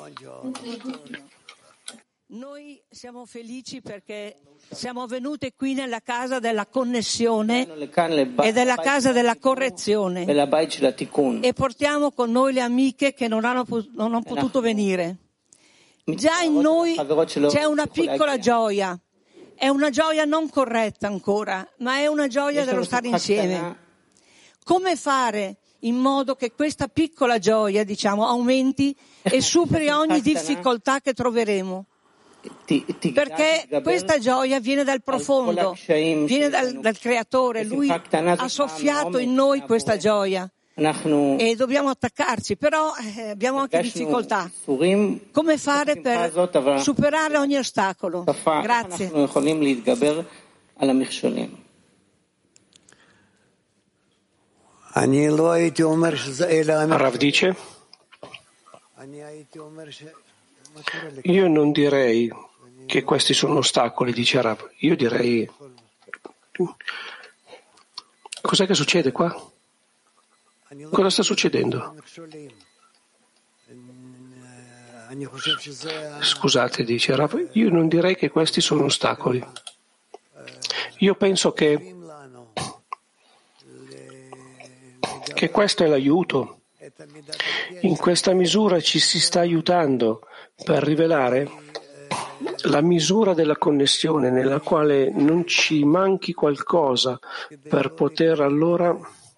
Noi siamo felici perché siamo venute qui nella casa della connessione e della casa della correzione e portiamo con noi le amiche che non hanno, non hanno potuto venire. Già in noi c'è una piccola gioia, è una gioia non corretta ancora, ma è una gioia dello stare insieme. Come fare in modo che questa piccola gioia, diciamo, aumenti e superi ogni difficoltà che troveremo? Perché questa gioia viene dal profondo, viene dal, dal Creatore, Lui ha soffiato in noi questa gioia e dobbiamo attaccarci, però eh, abbiamo anche difficoltà. Come fare per superare ogni ostacolo? Grazie. Rav dice: io non direi che questi sono ostacoli, dice Rav. Io direi: cos'è che succede qua? Cosa sta succedendo? Scusate, dice Rav, io non direi che questi sono ostacoli. Io penso che, che questo è l'aiuto. In questa misura ci si sta aiutando per rivelare la misura della connessione nella quale non ci manchi qualcosa per poter allora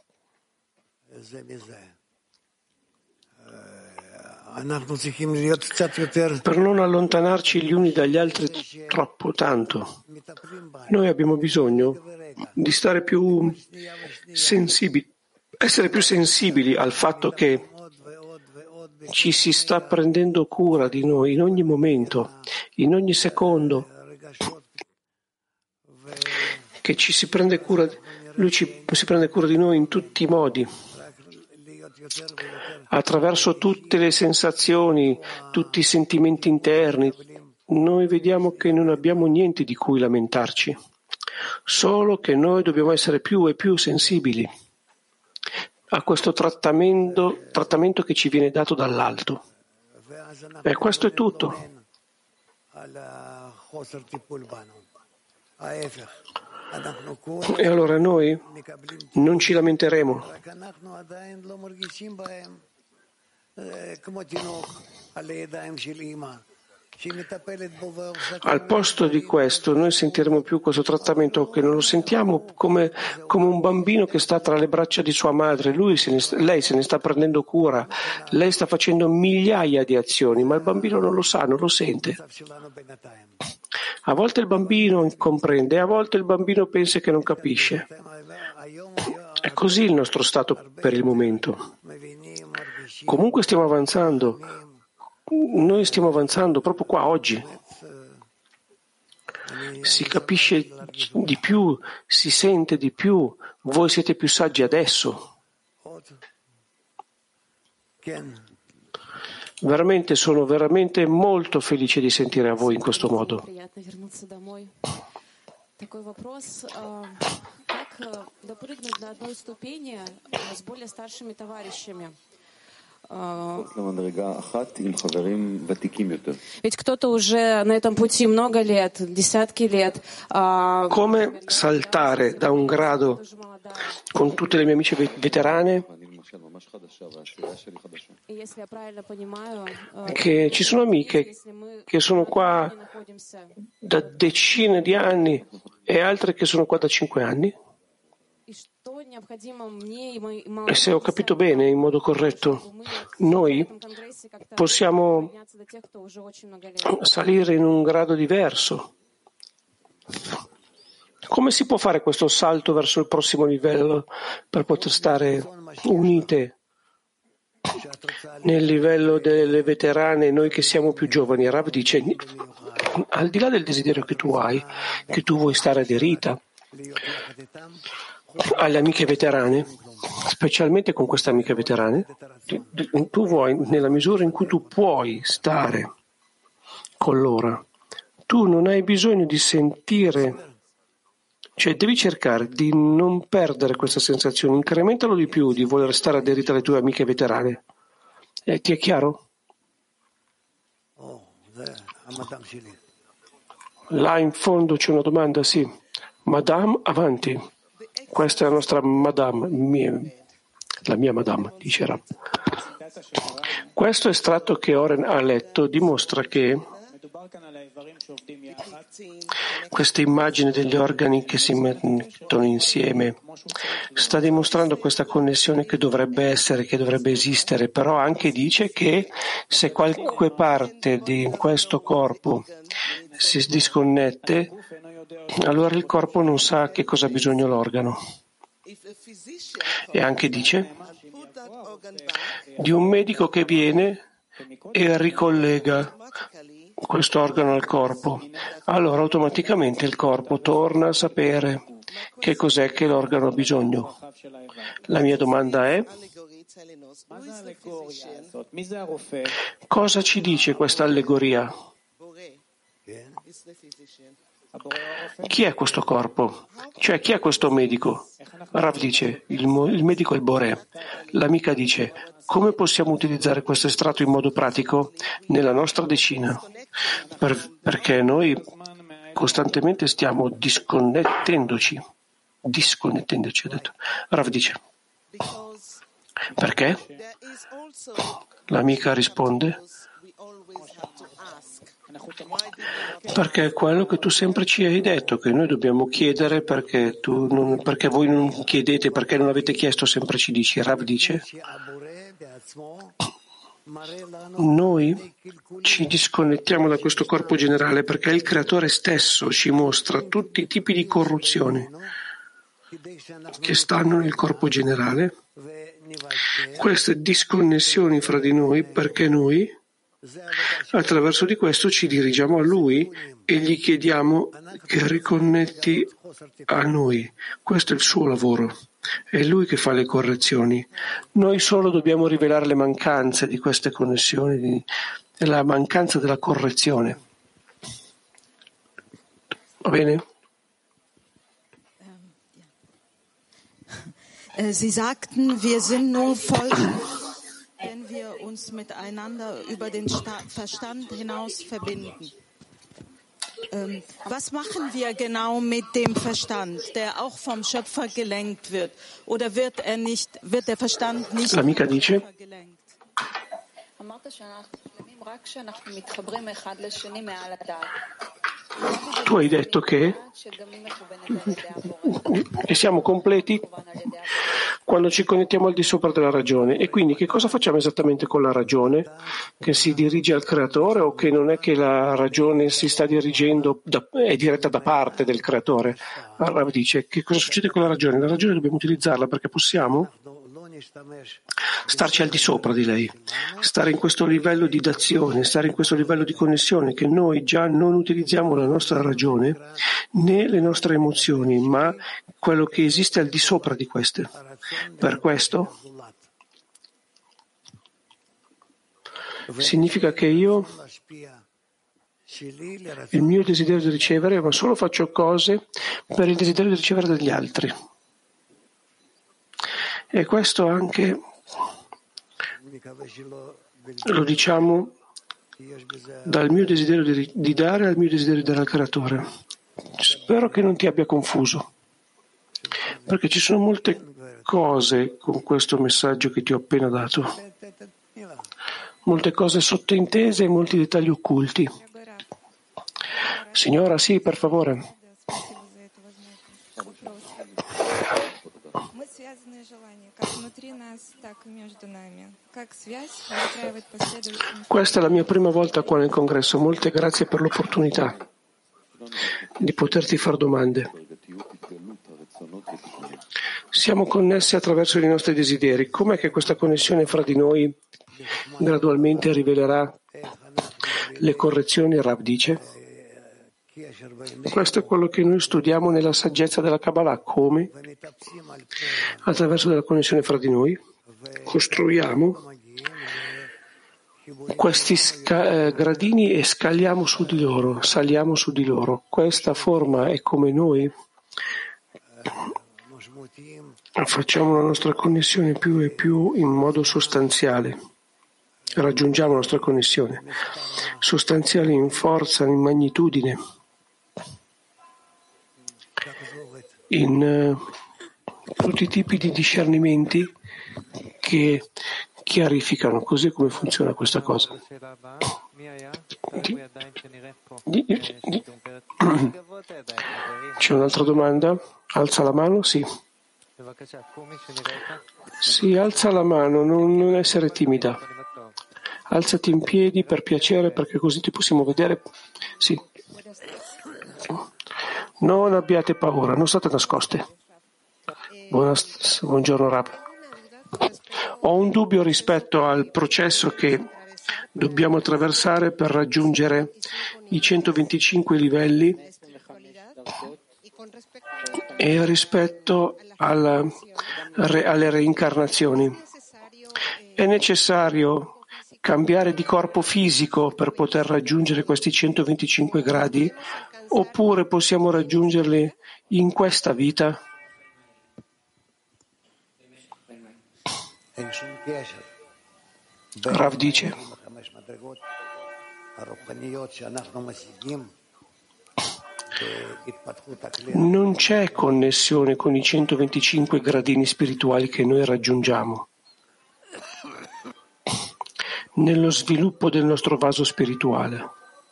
per non allontanarci gli uni dagli altri troppo tanto. Noi abbiamo bisogno di stare più sensibili, essere più sensibili al fatto che ci si sta prendendo cura di noi in ogni momento, in ogni secondo, che ci si prende cura, lui ci, si prende cura di noi in tutti i modi, attraverso tutte le sensazioni, tutti i sentimenti interni. Noi vediamo che non abbiamo niente di cui lamentarci, solo che noi dobbiamo essere più e più sensibili a questo trattamento, trattamento che ci viene dato dall'alto. E questo è tutto. E allora noi non ci lamenteremo. Al posto di questo noi sentiremo più questo trattamento che non lo sentiamo come, come un bambino che sta tra le braccia di sua madre. Lui se ne, lei se ne sta prendendo cura, lei sta facendo migliaia di azioni, ma il bambino non lo sa, non lo sente. A volte il bambino comprende, a volte il bambino pensa che non capisce. È così il nostro stato per il momento. Comunque stiamo avanzando. Noi stiamo avanzando proprio qua oggi. Si capisce di più, si sente di più. Voi siete più saggi adesso. Veramente sono veramente molto felice di sentire a voi in questo modo. Такой вопрос, как допрыгнуть до одной ступени с более старшими товарищами? Ведь кто-то уже на этом пути много лет, десятки лет. Come saltare da un grado con tutte le mie amiche veterane? Che ci sono amiche che sono qua da decine di anni e altre che sono qua da cinque anni. E se ho capito bene, in modo corretto, noi possiamo salire in un grado diverso. Come si può fare questo salto verso il prossimo livello per poter stare unite nel livello delle veterane, noi che siamo più giovani? Rav dice, al di là del desiderio che tu hai, che tu vuoi stare aderita alle amiche veterane, specialmente con queste amiche veterane, tu vuoi, nella misura in cui tu puoi stare con loro, tu non hai bisogno di sentire Cioè devi cercare di non perdere questa sensazione, incrementalo di più, di voler stare aderita alle tue amiche veterane. Eh, ti è chiaro? Là in fondo c'è una domanda, sì. Madame, avanti. Questa è la nostra Madame, mia, la mia Madame, dice Rav. Questo estratto che Oren ha letto dimostra che questa immagine degli organi che si mettono insieme sta dimostrando questa connessione che dovrebbe essere, che dovrebbe esistere, però anche dice che se qualche parte di questo corpo si disconnette, allora il corpo non sa che cosa ha bisogno l'organo. E anche dice di un medico che viene e ricollega questo organo al corpo, allora automaticamente il corpo torna a sapere che cos'è che l'organo ha bisogno. La mia domanda è: cosa ci dice questa allegoria? Chi è questo corpo? Cioè, chi è questo medico? Rav dice, il, il medico è il Boré. L'amica dice, come possiamo utilizzare questo estratto in modo pratico nella nostra decina? Per, perché noi costantemente stiamo disconnettendoci. Disconnettendoci, ha detto. Rav dice, perché? L'amica risponde, perché è quello che tu sempre ci hai detto, che noi dobbiamo chiedere perché, tu non, perché voi non chiedete, perché non avete chiesto, sempre ci dici. Rav dice, noi ci disconnettiamo da questo corpo generale perché il Creatore stesso ci mostra tutti i tipi di corruzione che stanno nel corpo generale, queste disconnessioni fra di noi, perché noi attraverso di questo ci dirigiamo a Lui e gli chiediamo che riconnetti a noi. Questo è il suo lavoro, è Lui che fa le correzioni. Noi solo dobbiamo rivelare le mancanze di queste connessioni, la mancanza della correzione. Va bene? Sie sagten, wir sind nur voll, wenn wir uns miteinander über den Verstand hinaus verbinden. Ähm, was machen wir genau mit dem Verstand, der auch vom Schöpfer gelenkt wird? Oder wird er nicht, wird der Verstand nicht vom Schöpfer gelenkt? Tu hai detto che, che siamo completi quando ci connettiamo al di sopra della ragione. E quindi che cosa facciamo esattamente con la ragione? Che si dirige al Creatore o che non è che la ragione si sta dirigendo, da, è diretta da parte del Creatore? Allora dice, che cosa succede con la ragione? La ragione dobbiamo utilizzarla perché possiamo starci al di sopra di lei, stare in questo livello di d'azione, stare in questo livello di connessione, che noi già non utilizziamo la nostra ragione né le nostre emozioni, ma quello che esiste al di sopra di queste. Per questo significa che io, il mio desiderio di ricevere, ma solo faccio cose per il desiderio di ricevere dagli altri. E questo anche lo diciamo dal mio desiderio di, di dare al mio desiderio di dare al Creatore. Spero che non ti abbia confuso, perché ci sono molte cose con questo messaggio che ti ho appena dato, molte cose sottintese e molti dettagli occulti. Signora, sì, per favore. Questa è la mia prima volta qua nel congresso. Molte grazie per l'opportunità di poterti fare domande. Siamo connessi attraverso i nostri desideri. Com'è che questa connessione fra di noi gradualmente rivelerà le correzioni? Rav dice. Questo è quello che noi studiamo nella saggezza della Kabbalah. Come? Attraverso la connessione fra di noi costruiamo questi sca- eh, gradini e scaliamo su di loro, saliamo su di loro. Questa forma è come noi facciamo la nostra connessione più e più in modo sostanziale. Raggiungiamo la nostra connessione sostanziale in forza, in magnitudine, in uh, tutti i tipi di discernimenti che chiarificano così come funziona questa cosa. Di, di, di. C'è un'altra domanda? Alza la mano? Sì. Sì, alza la mano, non, non essere timida. Alzati in piedi per piacere, perché così ti possiamo vedere. Sì. Non abbiate paura, non state nascoste. Buonas- buongiorno Rab. Ho un dubbio rispetto al processo che dobbiamo attraversare per raggiungere i centoventicinque livelli e rispetto alla, alle reincarnazioni. È necessario cambiare di corpo fisico per poter raggiungere questi centoventicinque gradi, oppure possiamo raggiungerli in questa vita? Rav dice: non c'è connessione con i centoventicinque gradini spirituali che noi raggiungiamo nello sviluppo del nostro vaso spirituale.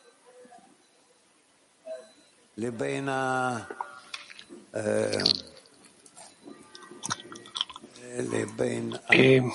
E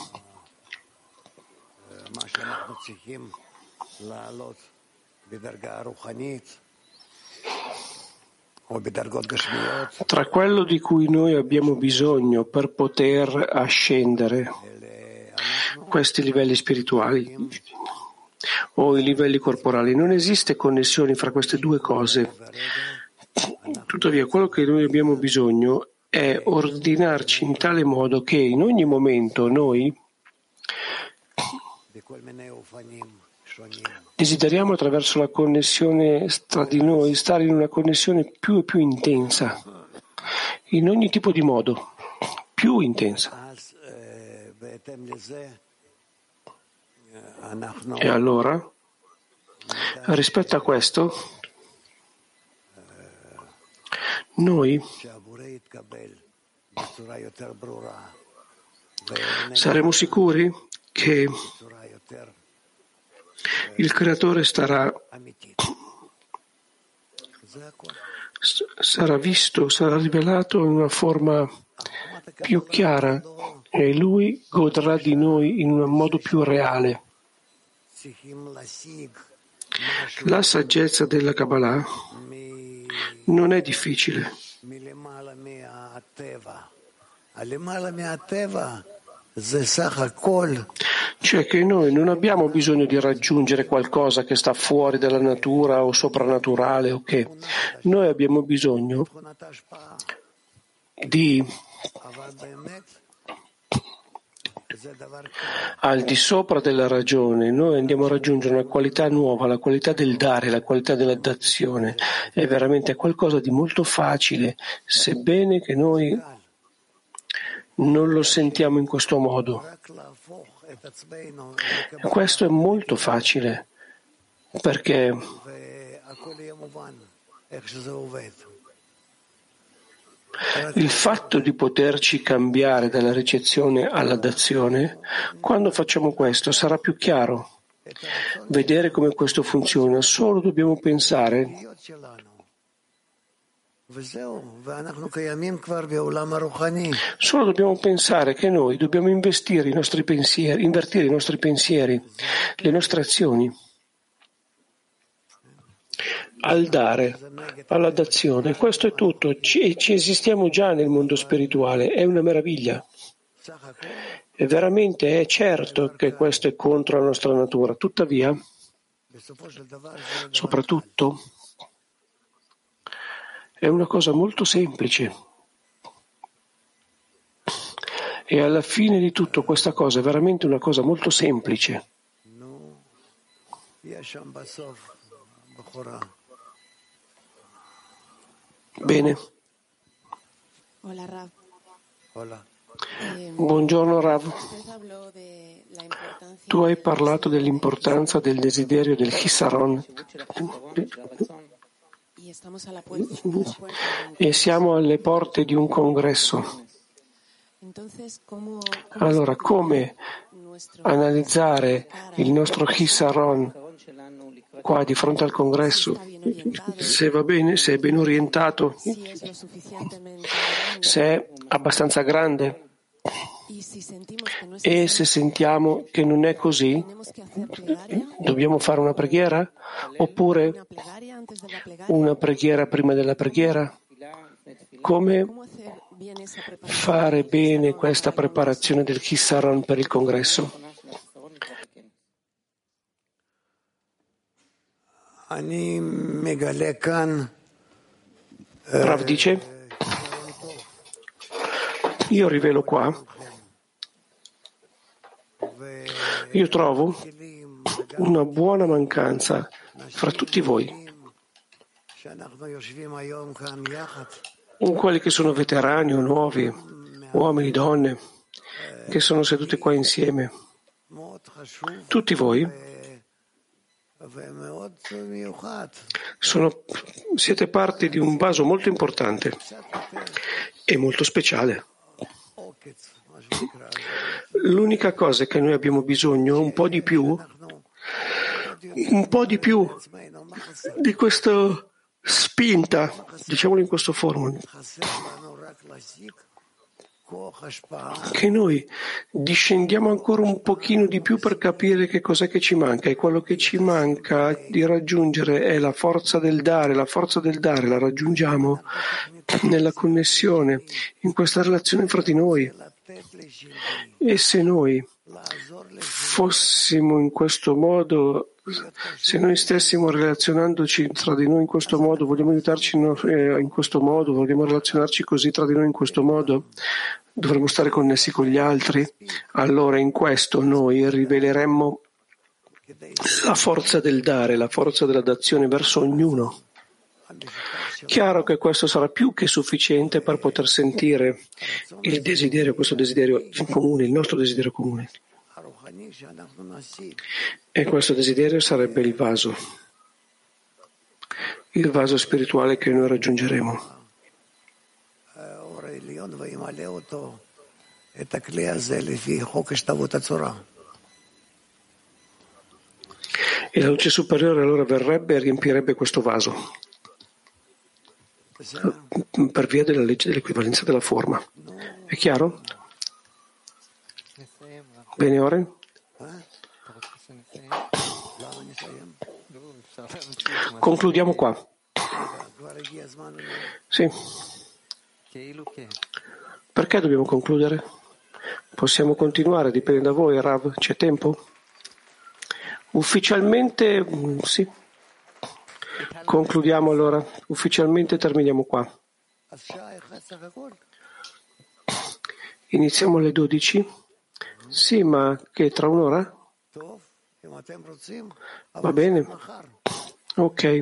tra quello di cui noi abbiamo bisogno per poter ascendere questi livelli spirituali o i livelli corporali, non esiste connessione fra queste due cose. Tuttavia, quello che noi abbiamo bisogno è ordinarci in tale modo che in ogni momento noi desideriamo, attraverso la connessione tra di noi, stare in una connessione più e più intensa, in ogni tipo di modo, più intensa. E allora, rispetto a questo, noi saremo sicuri che il Creatore starà, sarà visto, sarà rivelato in una forma più chiara e Lui godrà di noi in un modo più reale. La saggezza della Kabbalah non è difficile. Cioè che noi non abbiamo bisogno di raggiungere qualcosa che sta fuori dalla natura o soprannaturale, o che noi abbiamo bisogno di, al di sopra della ragione, noi andiamo a raggiungere una qualità nuova, la qualità del dare, la qualità della dazione. È veramente qualcosa di molto facile, sebbene che noi non lo sentiamo in questo modo. Questo è molto facile, perché il fatto di poterci cambiare dalla ricezione alla dazione, quando facciamo questo sarà più chiaro. Vedere come questo funziona, solo dobbiamo pensare Solo dobbiamo pensare che noi dobbiamo investire i nostri pensieri, invertire i nostri pensieri, le nostre azioni, al dare, alla dazione. Questo è tutto. Ci, ci esistiamo già nel mondo spirituale, è una meraviglia. E veramente è certo che questo è contro la nostra natura. Tuttavia, soprattutto, è una cosa molto semplice. E alla fine di tutto questa cosa è veramente una cosa molto semplice. Bene. Buongiorno Rav. Tu hai parlato dell'importanza del desiderio del Hisaron e siamo alle porte di un congresso. Allora, come analizzare il nostro Hisaron qua di fronte al congresso? Se va bene, se è ben orientato, se è abbastanza grande. E se sentiamo che non è così, dobbiamo fare una preghiera? Oppure una preghiera prima della preghiera? Come fare bene questa preparazione del Hisaron per il congresso? Rav dice, io rivelo qua, io trovo una buona mancanza fra tutti voi, in quelli che sono veterani o nuovi, uomini, donne, che sono seduti qua insieme. Tutti voi sono, siete parte di un vaso molto importante e molto speciale. L'unica cosa che noi abbiamo bisogno è un po' di più, un po' di più di questa spinta, diciamolo in questo forma, che noi discendiamo ancora un pochino di più per capire che cos'è che ci manca, e quello che ci manca di raggiungere è la forza del dare. La forza del dare la raggiungiamo nella connessione, in questa relazione fra di noi. E se noi fossimo in questo modo, se noi stessimo relazionandoci tra di noi in questo modo, vogliamo aiutarci in questo modo, vogliamo relazionarci così tra di noi in questo modo, dovremmo stare connessi con gli altri, allora in questo noi riveleremmo la forza del dare, la forza della dazione verso ognuno. Chiaro che questo sarà più che sufficiente per poter sentire il desiderio, questo desiderio comune, il nostro desiderio comune. E questo desiderio sarebbe il vaso, il vaso spirituale che noi raggiungeremo. E la luce superiore allora verrebbe e riempirebbe questo vaso per via della legge dell'equivalenza della forma. È chiaro? Bene, Oren? Concludiamo qua. Sì. Perché dobbiamo concludere? Possiamo continuare, dipende da voi, Rav. C'è tempo? Ufficialmente, sì. Concludiamo allora. Ufficialmente terminiamo qua. Iniziamo alle dodici? Sì, ma che tra un'ora? Va bene. Ok.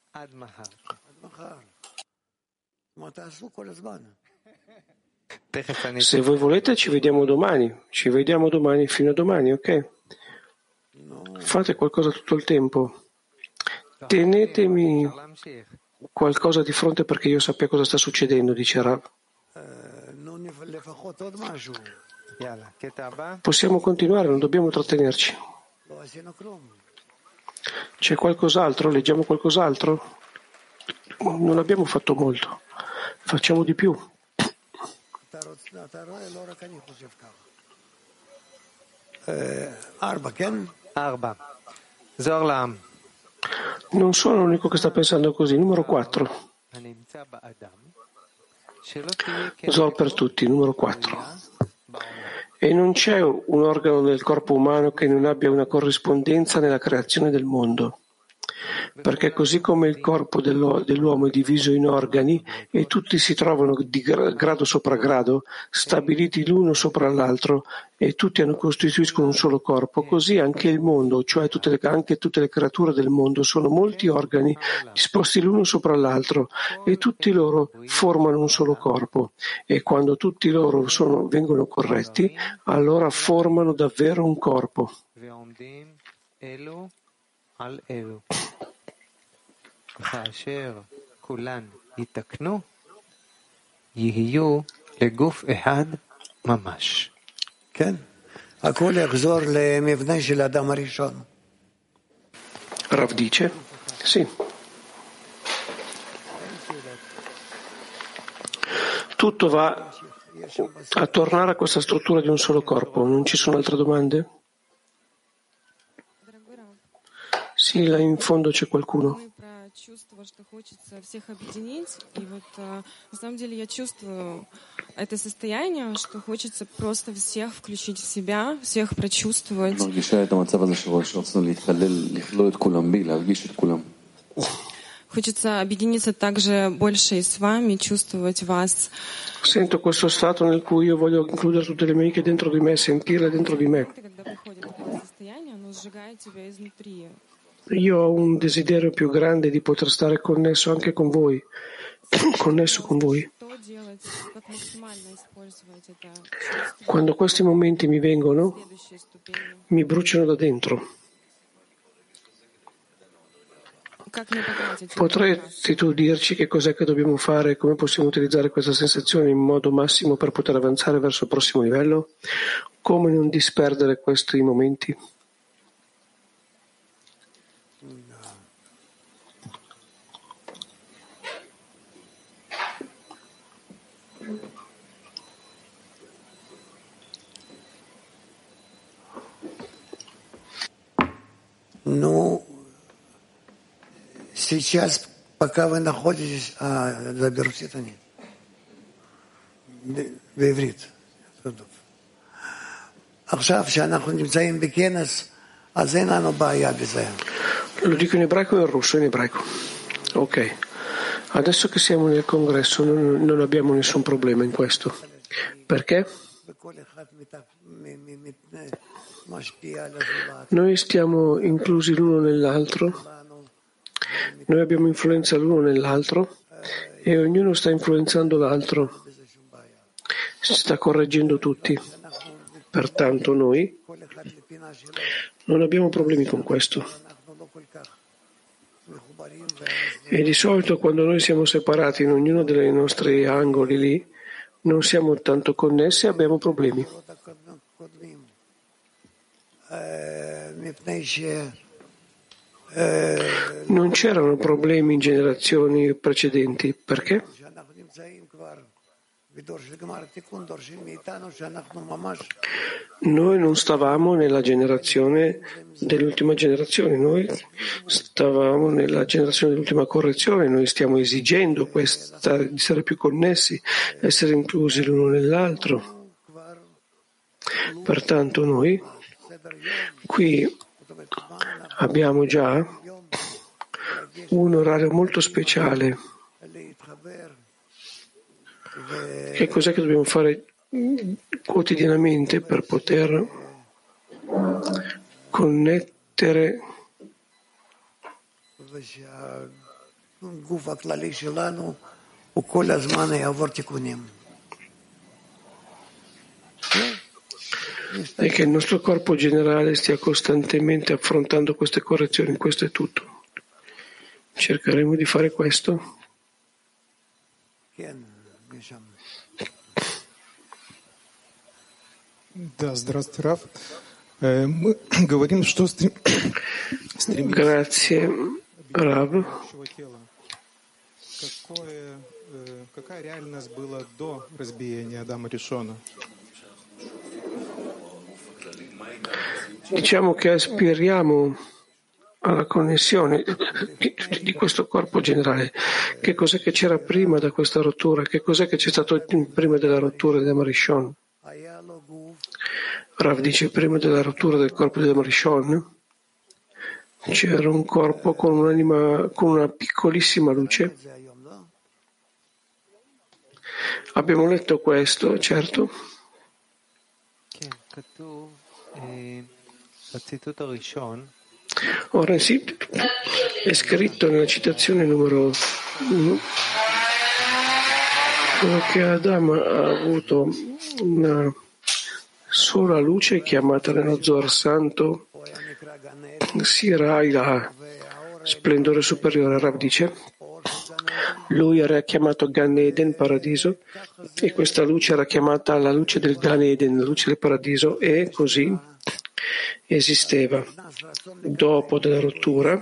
Se voi volete ci vediamo domani. Ci vediamo domani fino a domani, ok? Fate qualcosa tutto il tempo. Tenetemi qualcosa di fronte perché io sappia cosa sta succedendo, dice Rav. Possiamo continuare, non dobbiamo trattenerci. C'è qualcos'altro? Leggiamo qualcos'altro? Non abbiamo fatto molto. Facciamo di più. Arba. Zorlam. Non sono l'unico che sta pensando così. Numero quattro. Zor per tutti, numero quattro. E non c'è un organo del corpo umano che non abbia una corrispondenza nella creazione del mondo. perché così come il corpo dell'uomo è diviso in organi e tutti si trovano di grado sopra grado, stabiliti l'uno sopra l'altro, e tutti hanno costituiscono un solo corpo, così anche il mondo, cioè tutte le, anche tutte le creature del mondo, sono molti organi disposti l'uno sopra l'altro, e tutti loro formano un solo corpo. E quando tutti loro sono, vengono corretti, allora formano davvero un corpo. Rav dice, sì. Tutto va a tornare a questa struttura di un solo corpo. Non ci sono altre domande? Sì, là in fondo c'è qualcuno. Чувство, что хочется всех объединить, и вот на самом деле я чувствую это состояние, что хочется просто всех включить в себя, всех прочувствовать. Хочется объединиться также больше и с вами, чувствовать вас. Sento questo stato nel cui io voglio includere tutte le mie amiche dentro di me, sentirle dentro di me. Когда приходит такое состояние, оно сжигает тебя изнутри. Io ho un desiderio più grande di poter stare connesso anche con voi, connesso con voi. Quando questi momenti mi vengono, mi bruciano da dentro. Potresti tu dirci che cos'è che dobbiamo fare e come possiamo utilizzare questa sensazione in modo massimo per poter avanzare verso il prossimo livello? Come non disperdere questi momenti? Ну, сейчас, пока вы находитесь, а, заберутся это нет. בעברית. עכשיו, שאנחנו נמצאים בכנס, אז אין לנו בעיה בזה. Lo dico in ebraico e in russo, in ebraico. Ok. Adesso che siamo nel congresso non, non abbiamo nessun problema in questo. Perché? Noi stiamo inclusi l'uno nell'altro, noi abbiamo influenza l'uno nell'altro e ognuno sta influenzando l'altro, si sta correggendo tutti. Pertanto noi non abbiamo problemi con questo. E di solito quando noi siamo separati in ognuno dei nostri angoli lì, non siamo tanto connessi e abbiamo problemi. Non c'erano problemi in generazioni precedenti. Perché? Noi non stavamo nella generazione dell'ultima generazione, noi stavamo nella generazione dell'ultima correzione, noi stiamo esigendo questa, di essere più connessi, essere inclusi l'uno nell'altro. Pertanto noi qui abbiamo già un orario molto speciale. Che cos'è che dobbiamo fare quotidianamente per poter connettere e che il nostro corpo generale stia costantemente affrontando queste correzioni? Questo è tutto. Cercheremo di fare questo. Да, здравствуйте, Рав. Мы говорим, что стремимся Grazie, Rav. Какое, какая реальность была до разбиения Адама Ришона? Diciamo che aspiriamo alla connessione di, di questo corpo generale. Che cos'è che c'era prima da questa rottura? Che cos'è che c'è stato prima della rottura di Adam Rishon? Rav dice prima della rottura del corpo di Adam Rishon c'era un corpo con un'anima, con una piccolissima luce. Abbiamo letto questo, certo. Ora sì, è scritto nella citazione numero uno che Adamo ha avuto una sola luce chiamata nello Zohar Santo Sira Ilaha, splendore superiore. Rav dice, lui era chiamato Gan Eden, paradiso, e questa luce era chiamata la luce del Gan Eden, la luce del paradiso, e così esisteva. Dopo della rottura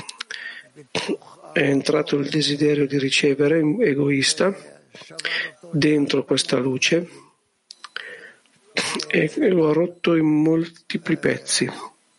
è entrato il desiderio di ricevere, egoista, dentro questa luce e lo ha rotto in moltipli pezzi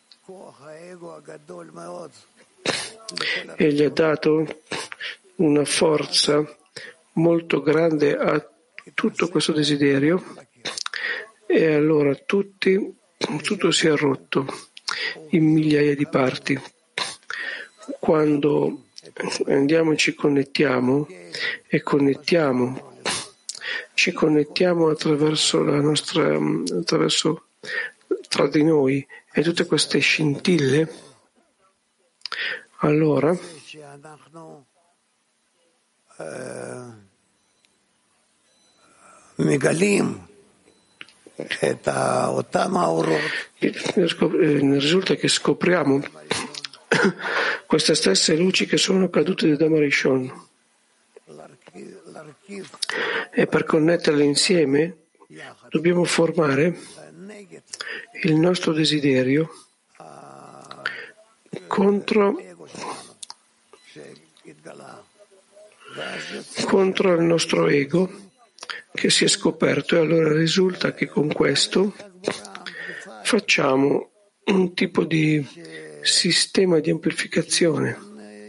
e gli ha dato una forza molto grande a tutto questo desiderio, e allora tutti, tutto si è rotto in migliaia di parti. Quando andiamo e ci connettiamo e connettiamo ci connettiamo attraverso la nostra attraverso tra di noi e tutte queste scintille, allora risulta che scopriamo queste stesse luci che sono cadute da Adam Rishon, e per connetterle insieme dobbiamo formare il nostro desiderio contro contro il nostro ego che si è scoperto, e allora risulta che con questo facciamo un tipo di sistema di amplificazione.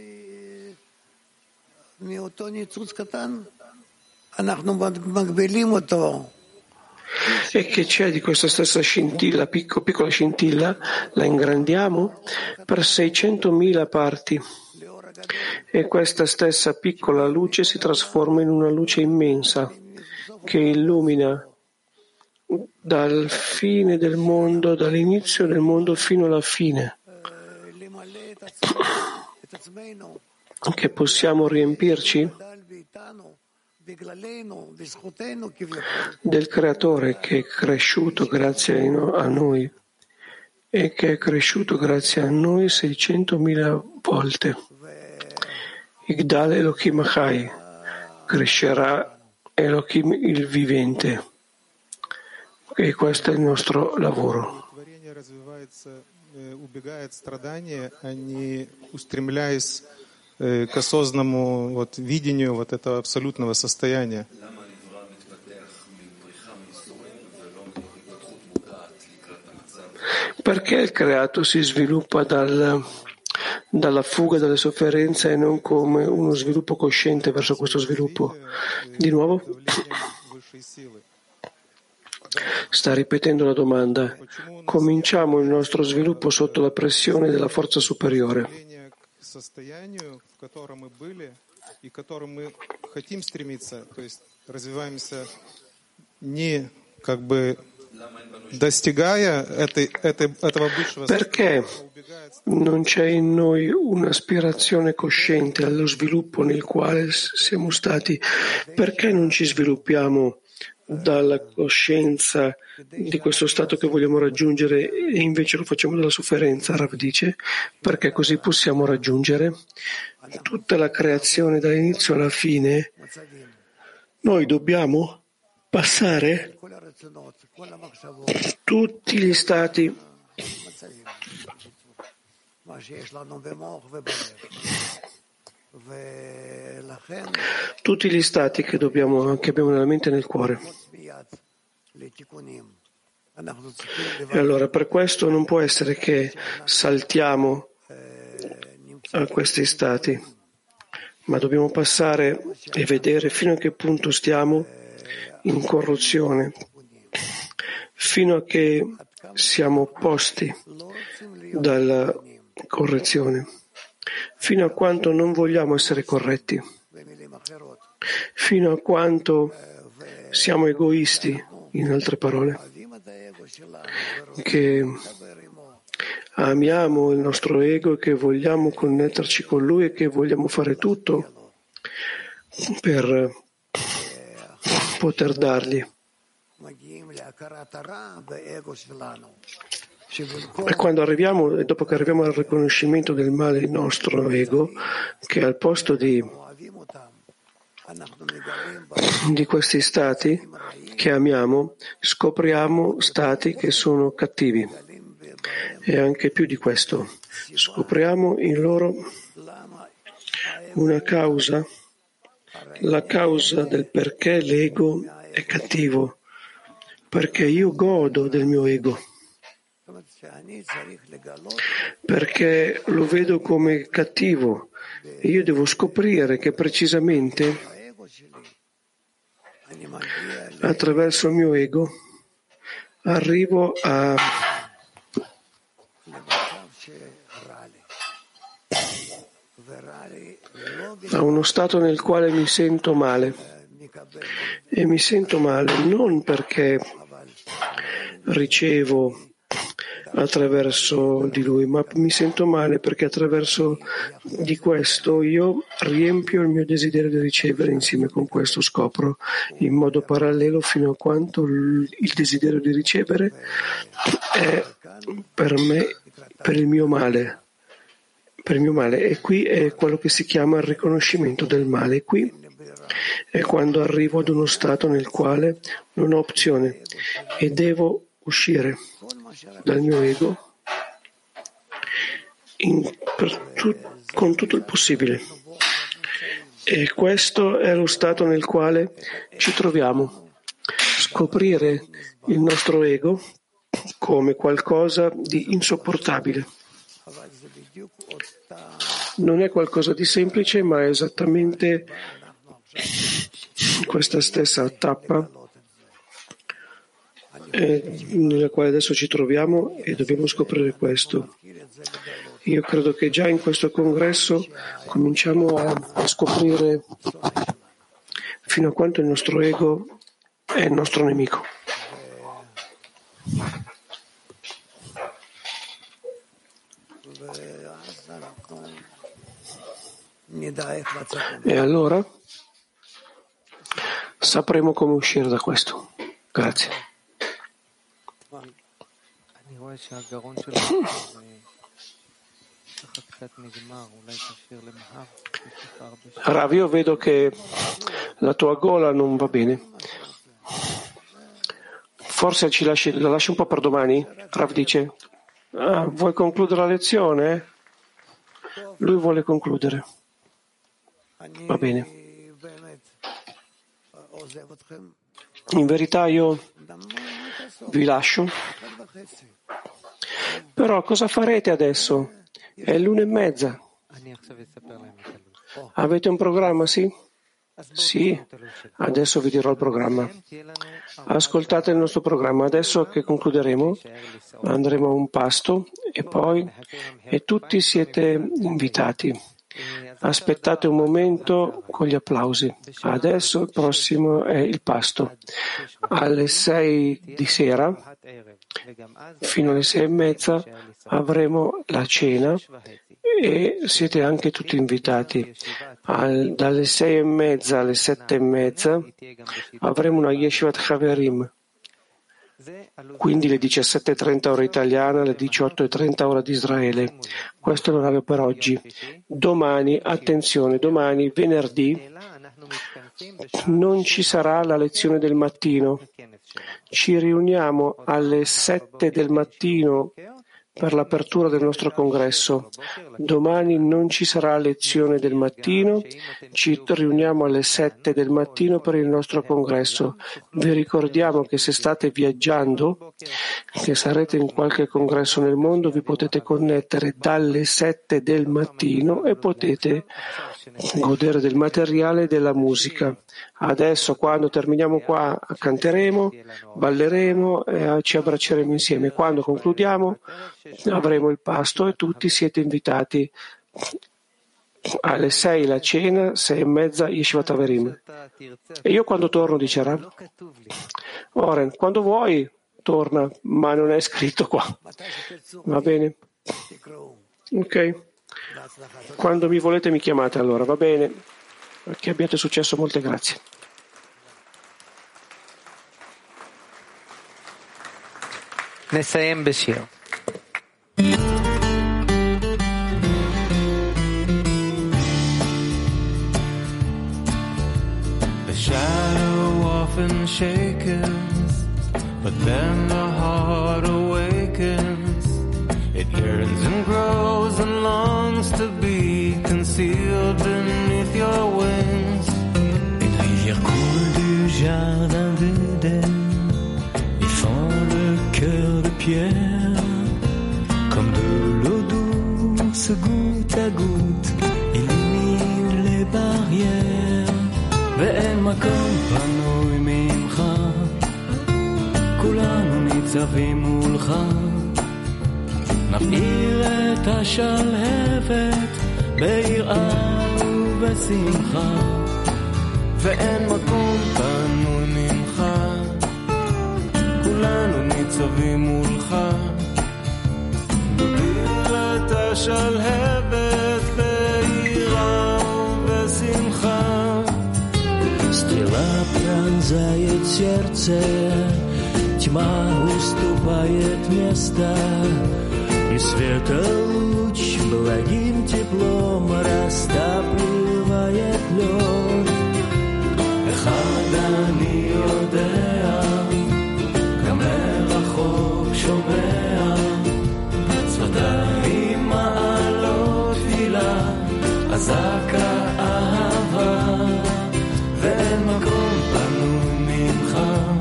E che c'è di questa stessa scintilla, picco, piccola scintilla, la ingrandiamo per seicentomila parti, e questa stessa piccola luce si trasforma in una luce immensa che illumina dal fine del mondo, dall'inizio del mondo fino alla fine, che possiamo riempirci del Creatore che è cresciuto grazie a noi e che è cresciuto grazie a noi seicentomila volte. Igdal Elohim Achai, crescerà Elohim il vivente, e questo è il nostro lavoro. К осознанному вот, видению вот этого абсолютного состояния. Perché il creato si sviluppa dal, dalla fuga dalle sofferenze e non come uno sviluppo cosciente verso questo sviluppo? Di nuovo? Sta ripetendo la domanda. Cominciamo il nostro sviluppo sotto la pressione della forza superiore. Состоянию, в котором мы были и к которому мы хотим стремиться, то есть развиваемся не как бы достигая этой, этой, этого высшего Perché non c'è in noi un'aspirazione cosciente allo sviluppo nel quale siamo stati? Perché non ci sviluppiamo dalla coscienza di questo stato che vogliamo raggiungere e invece lo facciamo dalla sofferenza? Rav dice, perché così possiamo raggiungere tutta la creazione dall'inizio alla fine. Noi dobbiamo passare tutti gli stati tutti gli stati che, dobbiamo, che abbiamo nella mente e nel cuore. E allora per questo non può essere che saltiamo a questi stati, ma dobbiamo passare e vedere fino a che punto stiamo in corruzione, fino a che siamo opposti dal, correzione, fino a quanto non vogliamo essere corretti, fino a quanto siamo egoisti, in altre parole, che amiamo il nostro ego e che vogliamo connetterci con lui e che vogliamo fare tutto per poter dargli. E quando arriviamo, e dopo che arriviamo al riconoscimento del male del nostro ego, che al posto di, di questi stati che amiamo, scopriamo stati che sono cattivi. E anche più di questo, scopriamo in loro una causa, la causa del perché l'ego è cattivo, perché io godo del mio ego, perché lo vedo come cattivo e io devo scoprire che precisamente attraverso il mio ego arrivo a a uno stato nel quale mi sento male, e mi sento male non perché ricevo attraverso di lui, ma mi sento male perché attraverso di questo io riempio il mio desiderio di ricevere, insieme con questo scopro in modo parallelo fino a quanto il desiderio di ricevere è per me, per il mio male. Per il mio male, e qui è quello che si chiama il riconoscimento del male. Qui è quando arrivo ad uno stato nel quale non ho opzione e devo uscire dal mio ego in, tu, con tutto il possibile. E questo è lo stato nel quale ci troviamo. Scoprire il nostro ego come qualcosa di insopportabile. Non è qualcosa di semplice, ma è esattamente questa stessa tappa eh, nella quale adesso ci troviamo e dobbiamo scoprire questo. Io credo che già in questo congresso cominciamo a, a scoprire fino a quanto il nostro ego è il nostro nemico. E allora sapremo come uscire da questo. Grazie. Rav, io vedo che la tua gola non va bene. Forse ci lasci, la lasci un po' per domani? Rav dice, ah, vuoi concludere la lezione? Lui vuole concludere. Va bene. In verità io vi lascio. Però cosa farete adesso? È l'una e mezza. Avete un programma, sì? Sì, adesso vi dirò il programma. Ascoltate il nostro programma. Adesso che concluderemo andremo a un pasto e poi e tutti siete invitati. Aspettate un momento con gli applausi. Adesso il prossimo è il pasto. Alle sei di sera, fino alle sei e mezza, avremo la cena e siete anche tutti invitati. Al, dalle sei e mezza alle sette e mezza avremo una Yeshivat Chaverim. Quindi le diciassette e trenta ora italiana, le diciotto e trenta ora di Israele. Questo è l'orario per oggi. Domani, attenzione, domani, venerdì, non ci sarà la lezione del mattino. Ci riuniamo alle sette del mattino per l'apertura del nostro congresso. Domani non ci sarà lezione del mattino, ci riuniamo alle sette del mattino per il nostro congresso. Vi ricordiamo che se state viaggiando, che sarete in qualche congresso nel mondo, vi potete connettere dalle sette del mattino e potete godere del materiale e della musica. Adesso, quando terminiamo qua, canteremo, balleremo e ci abbracceremo insieme. Quando concludiamo, avremo il pasto e tutti siete invitati. Alle sei la cena, sei e mezza Yeshivat Averim. E io quando torno, dice Rav? Oren, quando vuoi torna, ma non è scritto qua. Va bene? Ok. Quando mi volete mi chiamate allora, va bene? Che abbiate successo, molte grazie. נסיים בשיר. The shadow often shakens, but then the heart awakens. It yearns and grows and longs to be concealed beneath your wings. Une rivière coule du jardin d'Éden et fend le cœur de pierre, comme de l'eau douce goutte à goutte, illumine les barrières. ואין מקום פנוי ממך, כולנו ניצבים מולך, נבעיר את השלהבת ביראה ובשמחה. ואין מקום פנוי ממך, כולנו ניצבים מולך, נבעיר את השלהבת ביראה ובשמחה. Стрела пронзает сердце, тьма уступает место, и света луч благим теплом растапливает лед. אחד אני יודע, גם מרחוק שומע, צפתיים מעלות תפילה, אזעקה אהבה. ואין מקום פנוי ממך,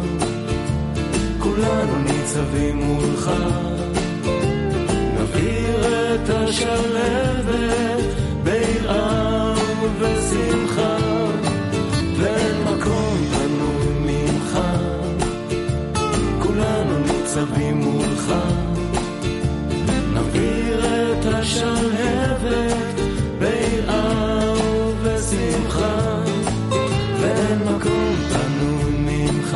כולנו ניצבים מולך, נבעיר את השלהבת ביראה ובשמחה. ואין מקום פנוי ממך, כולנו ניצבים מולך, נבעיר את השלהבת ביראה ובשמחה. ואין מקום פנוי ממך,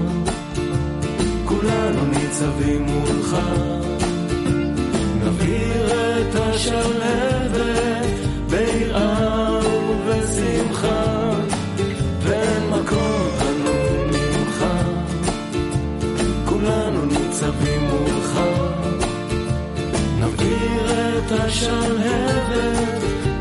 כולנו ניצבים מולך, נבעיר את השלהבת ביראה ובשמחה. ואין מקום פנוי ממך, כולנו ניצבים מולך, נבעיר את השלהבת